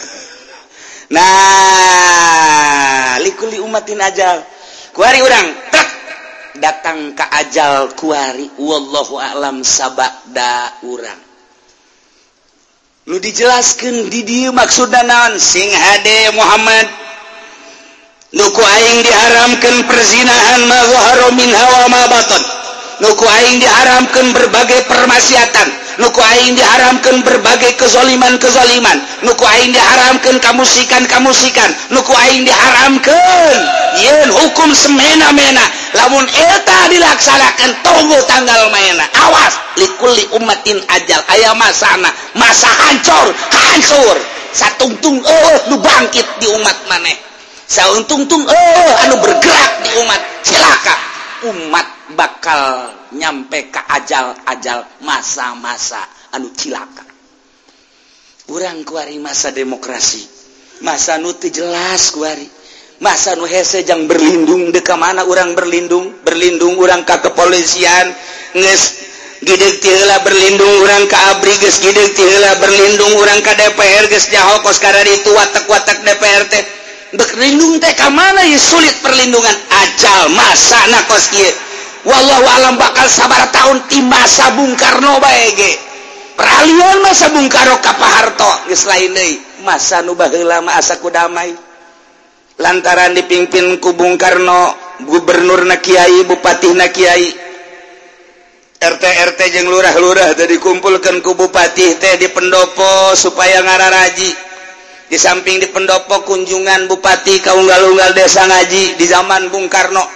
nah likuli umatin ajal kuari urang tek datang ka ajal kuari wallahu a'lam sabada urang nu dijelaskeun di dieu maksudna naon sing hade Muhammad nu ku aing diharamkeun perzinahan ma zahara minha wa ma batan nu ku aing diharamkeun berbagai permaksiatan nu ku aing diharamkeun berbagai kezaliman nu ku aing diharamkeun kamusikan nu ku aing diharamkeun yen hukum semena-mena lamun eta dilaksanakeun tunggu tanggal maena awas likulli ummatin ajal aya masana masa hancur satungtung nu bangkit di umat maneh sauntung-tung anu bergerak di umat cilaka umat bakal nyampe ke ajal masa-masa anu cilaka urang kuari masa demokrasi masa nu teu jelas kuari masa nu hese jang berlindung dek ka mana urang berlindung urang ka kepolisian geus gideg ti heula berlindung urang ka ABRI geus gideg ti heula berlindung urang ka DPR geus nyaho kos kada ditu watek-watek DPR teh berlindung teh ka mana ye sulit perlindungan ajal masana kos kieu wallahu alam bakal sabar tahun ti masa Bung Karno bae ge peralihan masa Bung Karno ka Pak Harto geus lain deui masa nu baheula mah asa ku damai lantaran dipimpin ku Bung Karno gubernurna kiai bupatihna kiai RT jeung lurah-lurah teh dikumpulkeun ku bupati teh di pendopo supaya ngararaji di samping di pendopo kunjungan bupati ka unggal-unggal desa ngaji di zaman Bung Karno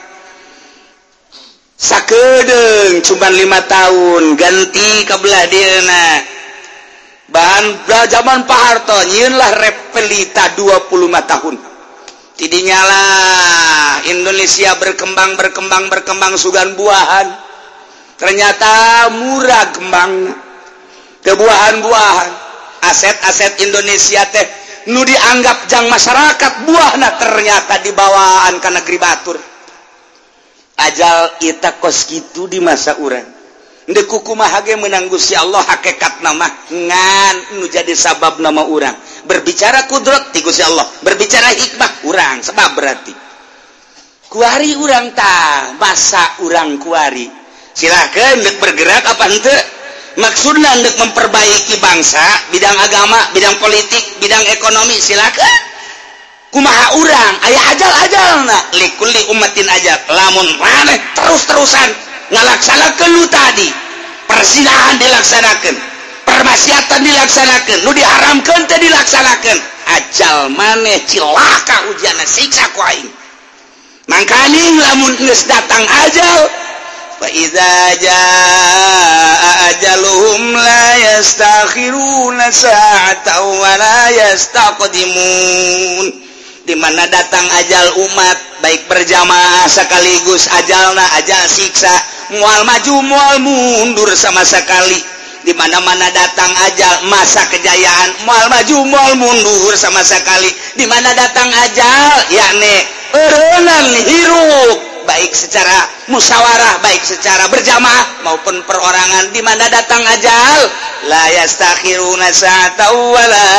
sakedeung cuma 5 tahun ganti ka belah dieuna bahan zaman Pak Harto nyieun lah repelita 25 tahun tidinya lah Indonesia berkembang sugan buahan ternyata murah kembang kebuahan-buahan aset-aset Indonesia teh nu dianggap jang masyarakat buahna ternyata dibawaan ka negeri batur ajal ita kos kitu di masa urang deuk kumaha ge meunang Gusti Allah hakikatna mah ngan nu jadi sabab nama urang berbicara kudrat ti Gusti Allah berbicara hikmah urang sebab berarti kuari urang tah masa urang kuari silakeun deuk bergerak apa henteu maksudna deuk memperbaiki bangsa bidang agama bidang politik bidang ekonomi silakeun kumaha urang aya ajal-ajalna likulli ummatin ajal lamun maneh terus-terusan ngalaksanakeun nu tadi perzinahan dilaksanakeun permaksiatan dilaksanakeun nu diharamkeun teh dilaksanakeun ajal maneh cilaka ujianna siksa ku aing mangkani lamun geus datang ajal fa iza jaa ajaluhum la yastakhiruna sa'atan wa la yastaqdimun di mana datang ajal umat baik berjamaah sekaligus ajalna ajal siksa mual maju mual mundur sama sekali di mana-mana datang ajal masa kejayaan mual maju mual mundur sama sekali di mana datang ajal yakni eureunnan hirup baik secara musyawarah baik secara berjamaah maupun perorangan di mana datang ajal la yastakhiruna sa'atan wa la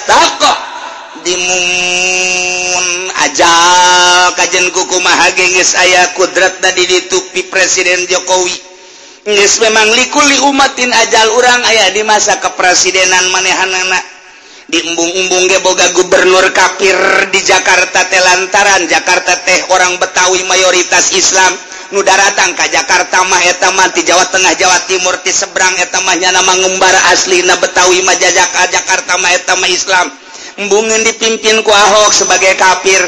yastaqdimun ajal kajen kumaha geus aya kudrat tadi ditupi Presiden Jokowi geus memang likuli umatin ajal urang aya di masa kepresidenan manehanana di embung-embung ge boga gubernur kafir di Jakarta teh lantaran Jakarta teh orang Betawi mayoritas Islam nu daratang ka Jakarta mah eta mah ti Jawa Tengah Jawa Timur ti seberang eta mah nya nama ngumbar aslina Betawi mah Jakarta mah eta mah Islam embungeun dipimpin ku Ahok sebagai kafir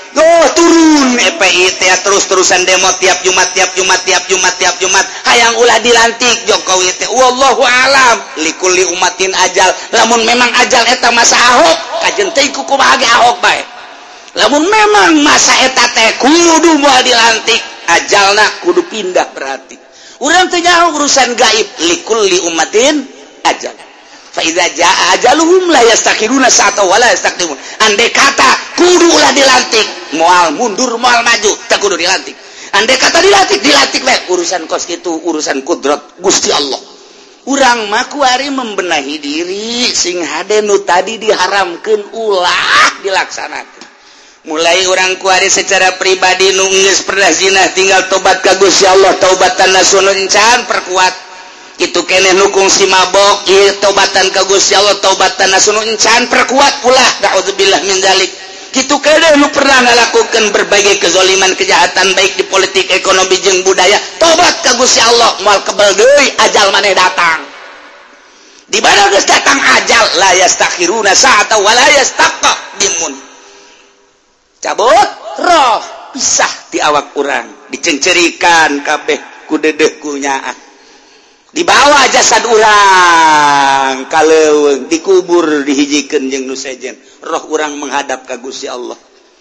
turun EPI terus-terusan demo tiap Jumat hayang ulah dilantik Jokowi teh wallahu alam likulli umatin ajal lamun memang ajal eta masa Ahok kajen teh kumaha ge Ahok bae lamun memang masa eta teh kudu moal dilantik ajalna kudu pindah berarti urang teh nyaho urusan gaib likulli umatin ajal fa iza jaa ajaluhum la yastakhiruna sa'ata wa la yastaqdimun andai kata kudu ulah dilantik moal mundur moal maju tak kudu dilantik andai kata dilantik we urusan kos kitu urusan kudrat Gusti Allah urang mah kuari membenahi diri sing hade nu tadi diharamkeun ulah dilaksanakeun mulai urang kuari secara pribadi nu geus pernah zina tinggal tobat ka Gusti Allah taubatan nasuhun encan perkuat itu keneh nukung si mabok ieu taubatan ka Gusti Allah taubatan nasuhun encan perkuat ulah naudzubillah min dzalik kitu keneh nu pernah ngalakukeun berbagai kezaliman kejahatan baik di politik ekonomi jeung budaya tobat ka Gusti Allah moal kebal deui ajal maneh datang di mana geus datang ajal la yastakhiruna sa'ata wa la yastaqdimun cabut roh pisah di awak urang dicencerikan kabeh ku dedeh ku nyaah dibawa jasad urang kaleuweung dikubur dihijikeun jeung nu sejen roh urang menghadap ka Gusti Allah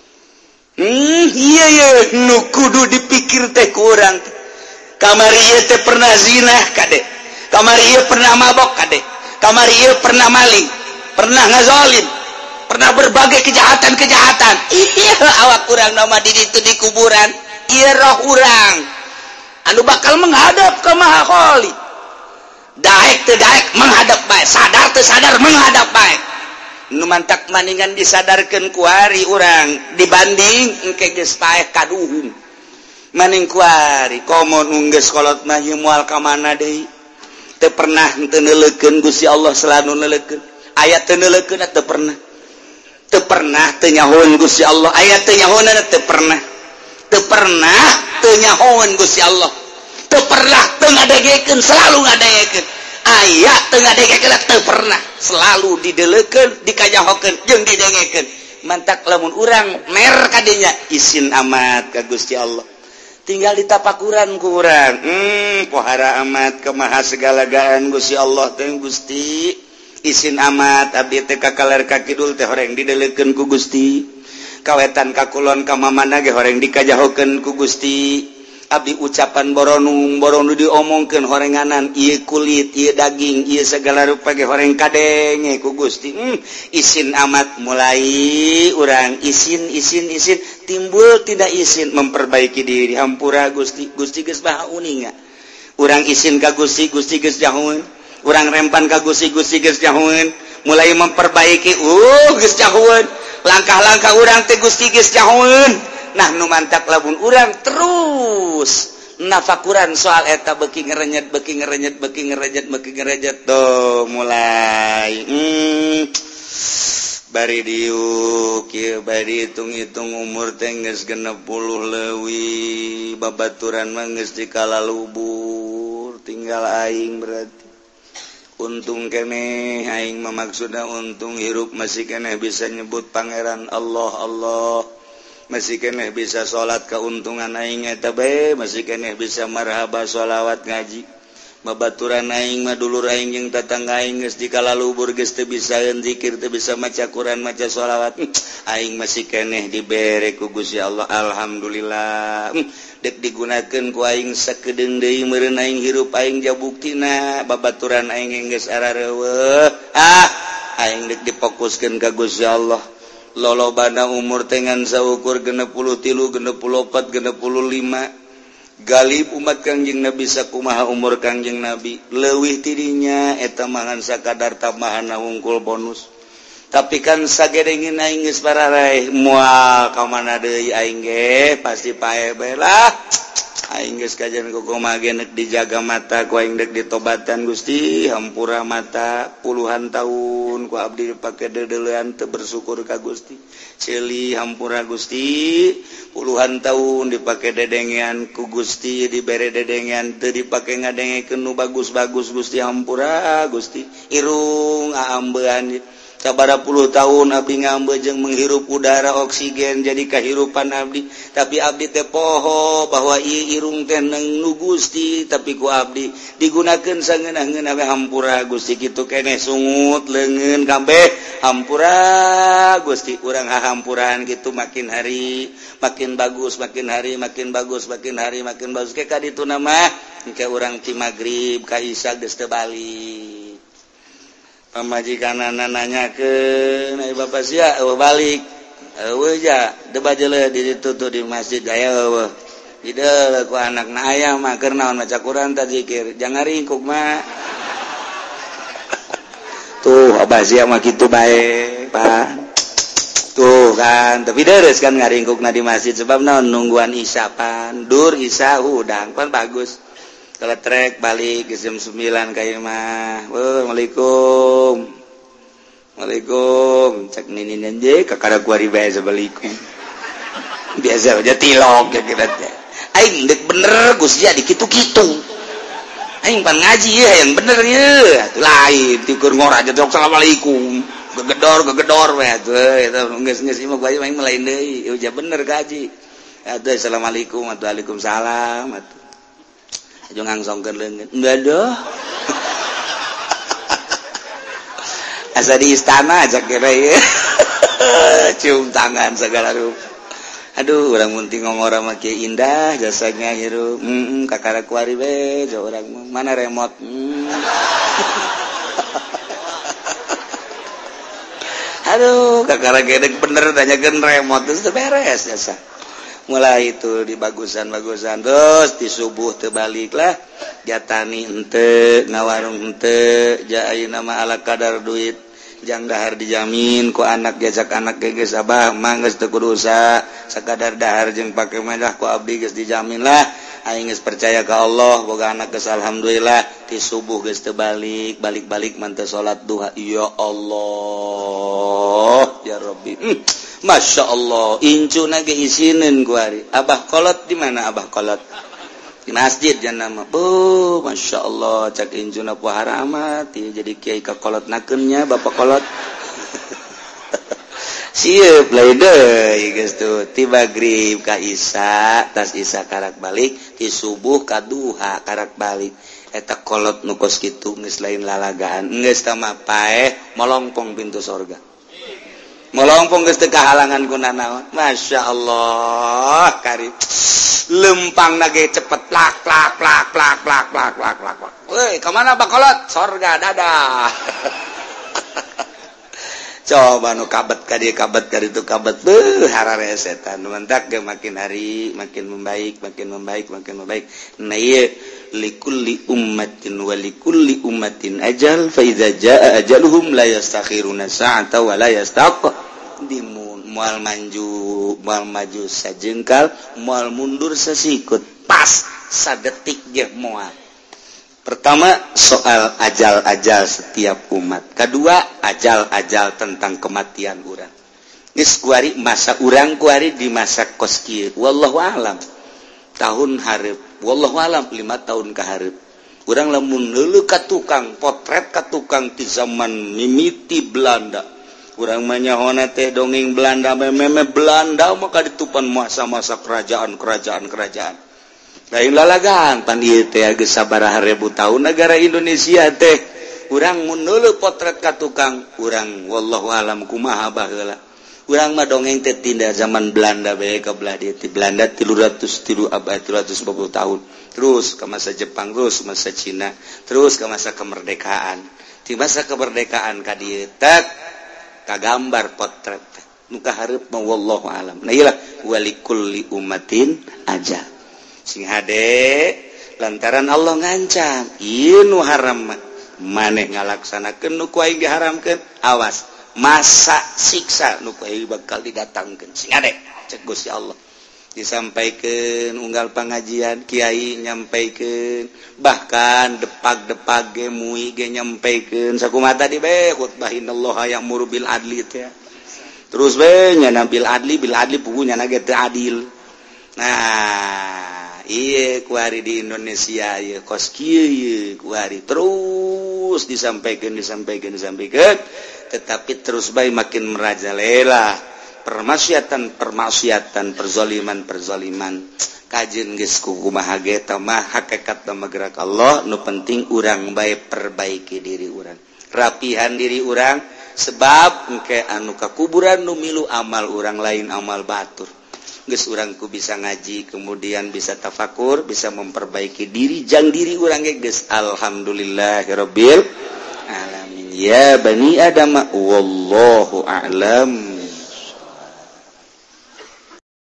iya nu kudu dipikir teh ku urang kamari ieu teh pernah zina kade kamari ieu pernah mabok kade kamari ieu pernah maling pernah ngazolim pernah berbagai kejahatan iya awak urang nama di ditu di kuburan iya roh urang anu bakal menghadap ka Maha Khali daek teu daek menghadap bae sadar teu sadar menghadap bae nu mantak maningan disadarkeun ku ari urang dibanding engke geus paeh kaduhung maning ku ari komo nu geus kolot mah ieu moal ka mana deui teu pernah teu neuleukeun Gusti Allah selalu neuleukeun aya teu neuleukeun teu pernah teu nyahoeun Gusti Allah aya teu nyahoeun teu pernah teu nyahoeun Gusti Allah teu pernah teu ngadegekeun selalu ngadegekeun aya teu ngadegekeun teu pernah selalu dideleukeun dikajahokeun jeung didengekeun mantak lamun urang mer ka dinya isin amat ka Gusti Allah tinggal ditapakuran ku urang pohara amat ka maha segalagaan Gusti Allah teh Gusti isin amat abdi teh ka kaler ka kidul teh horeng dideleukeun ku Gusti kawetan ka kulon ka mamana ge horeng dikajahokeun ku Gusti abdi ucapan boronu diomongkeun horenganan ieu kulit ieu daging ieu segala rupa ge horeng kadenge ku Gusti isin amat mulai urang isin timbul tidak isin memperbaiki diri hampura Gusti geus baha uninga urang isin ka Gusti geus jahoeun urang rempan ka Gusti geus jahoeun mulai memperbaiki geus jahoeun langkah-langkah urang teh Gusti geus jahoeun nah nu mantak lamun urang terus nafakuran soal eta beuki ngerenyet tuh mulai bari diuk kieu bari hitung-hitung umur teh geus 60 leuwih babaturan mah geus dikalalubur tinggal aing berarti untung keneh aing mah maksudna untung hirup masih keneh bisa nyebut pangeran Allah masih keneh bisa sholat keuntungan aing eta bae masih keneh bisa marhaba sholawat ngaji babaturan aing mah dulur aing jeung tatangga aing geus dikalalubur geus teu bisa zikir teu bisa maca Quran maca sholawat aing masih keneh dibere ku Gusti Allah alhamdulillah dek digunakeun ku aing sakedeung deui meureun aing hirup aing jabuktina babaturan aing geus arareueuh aing dek difokuskeun ka Gusti Allah lolobana umur tengan saukur 63, 64, 65 galib umat Kangjeng Nabi sakumaha umur Kangjeng Nabi leuwih tidinya eta mangan sakadar tambahan hungkul bonus tapi kan sagedengin aing geus bararaeh moal ka mana deui aing ge pasti pae bae lah aing geus kajian kumaha ge neuk dijaga mata ku aing deuk ditobatan Gusti hampura mata puluhan tahun ku abdi dipake dedeleuan teu bersyukur ka Gusti ceuli hampura Gusti puluhan tahun dipake dedengean ku Gusti dibere dedengean teu dipake ngadengekeun nu bagus-bagus Gusti hampura Gusti irung aambean sabaraha puluh tahun abdi ngambejeng menghirup udara oksigen jadi kahirupan abdi tapi abdi teh poho bahwa ieu irung teh nu Gusti tapi ku abdi digunakeun sangeunah-ngeunah we hampura Gusti kitu keneh sungut leungeun kabeh hampura Gusti urang hahampuran gitu makin hari makin bagus makin hari makin bagus makin hari makin bagus ke kaditu nama engke urang ti magrib ka isya geus teu balik pamajikanana nanyakeun ai bapak sia balik eueuh ja debat jeuleuh di ditu tuh di masjid aya eueuh ideu ku anakna aya mah keur naon maca Quran tah zikir jangan ringkuk mah tuh abah sia mah kitu bae Pak tuh kan tapi deres kan ngaringkukna di masjid sebab naon nungguan isya pan dur isya hudang pan bagus kalau trek balik jam 9 kayak mah. Waalaikum. Waalaikum. Cek ninin aja kakara kuari bae sabalikum. Biasa aja tilok ya kira teh. Aing dek bener Gus ya di kitu-kitu. Aing pan ngaji ya yang bener ya. Atuh lain tikur ngora aja tok asalamualaikum. Gegedor we atuh eta geus imah bae aing lain deui. Ya bener kaji. Atuh assalamualaikum atuh waalaikumsalam atuh. Aja ngangsongkeun leungeun. Enggak asa di istana aja kira ya. Cium tangan segala rupa. Aduh, urang munting ngongora mah kieu indah jasanya hirup. Kakara kuari we, jo urang mana remote. Aduh, kakara gedek bener tanyakeun remote terus beres jasa. Mulai itu di bagusan-bagusan terus di subuh terbalik lah jatani ente ngawarung ente jai nama ala kadar duit jang dahar dijamin ku anak jajak anak geus abah manggeus teu kudu usaha sakadar dahar jeung pake medah ku abdi geus dijamin lah aing geus percaya ka Allah boga anak geus alhamdulillah di subuh geus teu balik man teu salat duha ya Allah ya Rabbi Masya Allah, incuna ge isinin kuari. Abah kolot di mana abah kolot? Di masjid jangan nama. Oh, Masya Allah, cak incuna puhara amat. Jadi kiai ka kolot nakennya, bapak kolot. Siap, lain deh, guys tuh. Tiba grib ka isa, tas isa karak balik. Di subuh ka duha karak balik. Eta kolot nukos gitu, nges lain lalagaan. Nges tama paeh, molongpong pintu sorga. Melongpong geus teu kahalangan ku nanaon. Masya Allah, karib. Lempang nage cepet plak. Woi, kemana bakolot? Sorga dadah. Coba nu kabet ka dieu kabet ka ditu kabet. Harare setan. Mentak ge makin hari makin membaik. Nah ieu likulli ummatin wa likulli ummatin ajal fa idza jaa ajaluhum la yastakhiruna sa'ata wa la yastaqdimun moal maju sajengkal moal mundur sasikut pas sadetik ge moal. Pertama soal ajal-ajal setiap umat, kedua ajal-ajal tentang kematian urang geus kuari masa urang kuari di masa kos kieu wallahu alam tahun hareup wallahu alam 5 tahun ka hareup urang lamun neuleuh ka tukang potret ka tukang ti zaman mimiti Belanda urang mah nyahona teh dongeng Belanda meme Belanda mah kaditupan masa-masa kerajaan lain lalagan pan ieu teh geus sabaraha ribu tahun negara Indonesia teh urang mun neuleuh potret ka tukang urang wallahu alam kumaha baheula urang mah dongeng teh tinda zaman Belanda bae ka belah dieu ti Belanda 350 tahun terus ke masa Jepang terus masa Cina terus ke masa kemerdekaan di masa kemerdekaan ka dieu tak kagambar potret nu kahareup mah wallahu alam nah ieu lah walikulli ummatin ajal sing hade lantaran Allah ngancam ieu nu haram maneh ngalaksanakeun nu ku aing diharamkeun awas masa siksa nu bakal didatangkeun sing ade cek Gusti Allah disampaikeun unggal pangajian kiai nyampaikeun bahkan depag-depag ge mui ge nyampaikeun sakumaha tadi be khutbahinallah ya'muru bil adli teh terus be nya bil adli pugunya na ge teu adil nah ieu kuari di Indonesia ieu kos kieu ieu kuari terus terus disampaikan tetapi terus baik makin merajalela permaksiatan perzoliman kajen geus kumaha ge tah mah hakikat mah gerak Allah nu penting urang bae perbaiki diri urang rapihan diri urang sebab engke anu ka kuburan nu milu amal urang lain amal batur geus urangku bisa ngaji kemudian bisa tafakur bisa memperbaiki diri jang diri urang ge geus alhamdulillahirabbil alamin ya bani adam wallahu a'lam.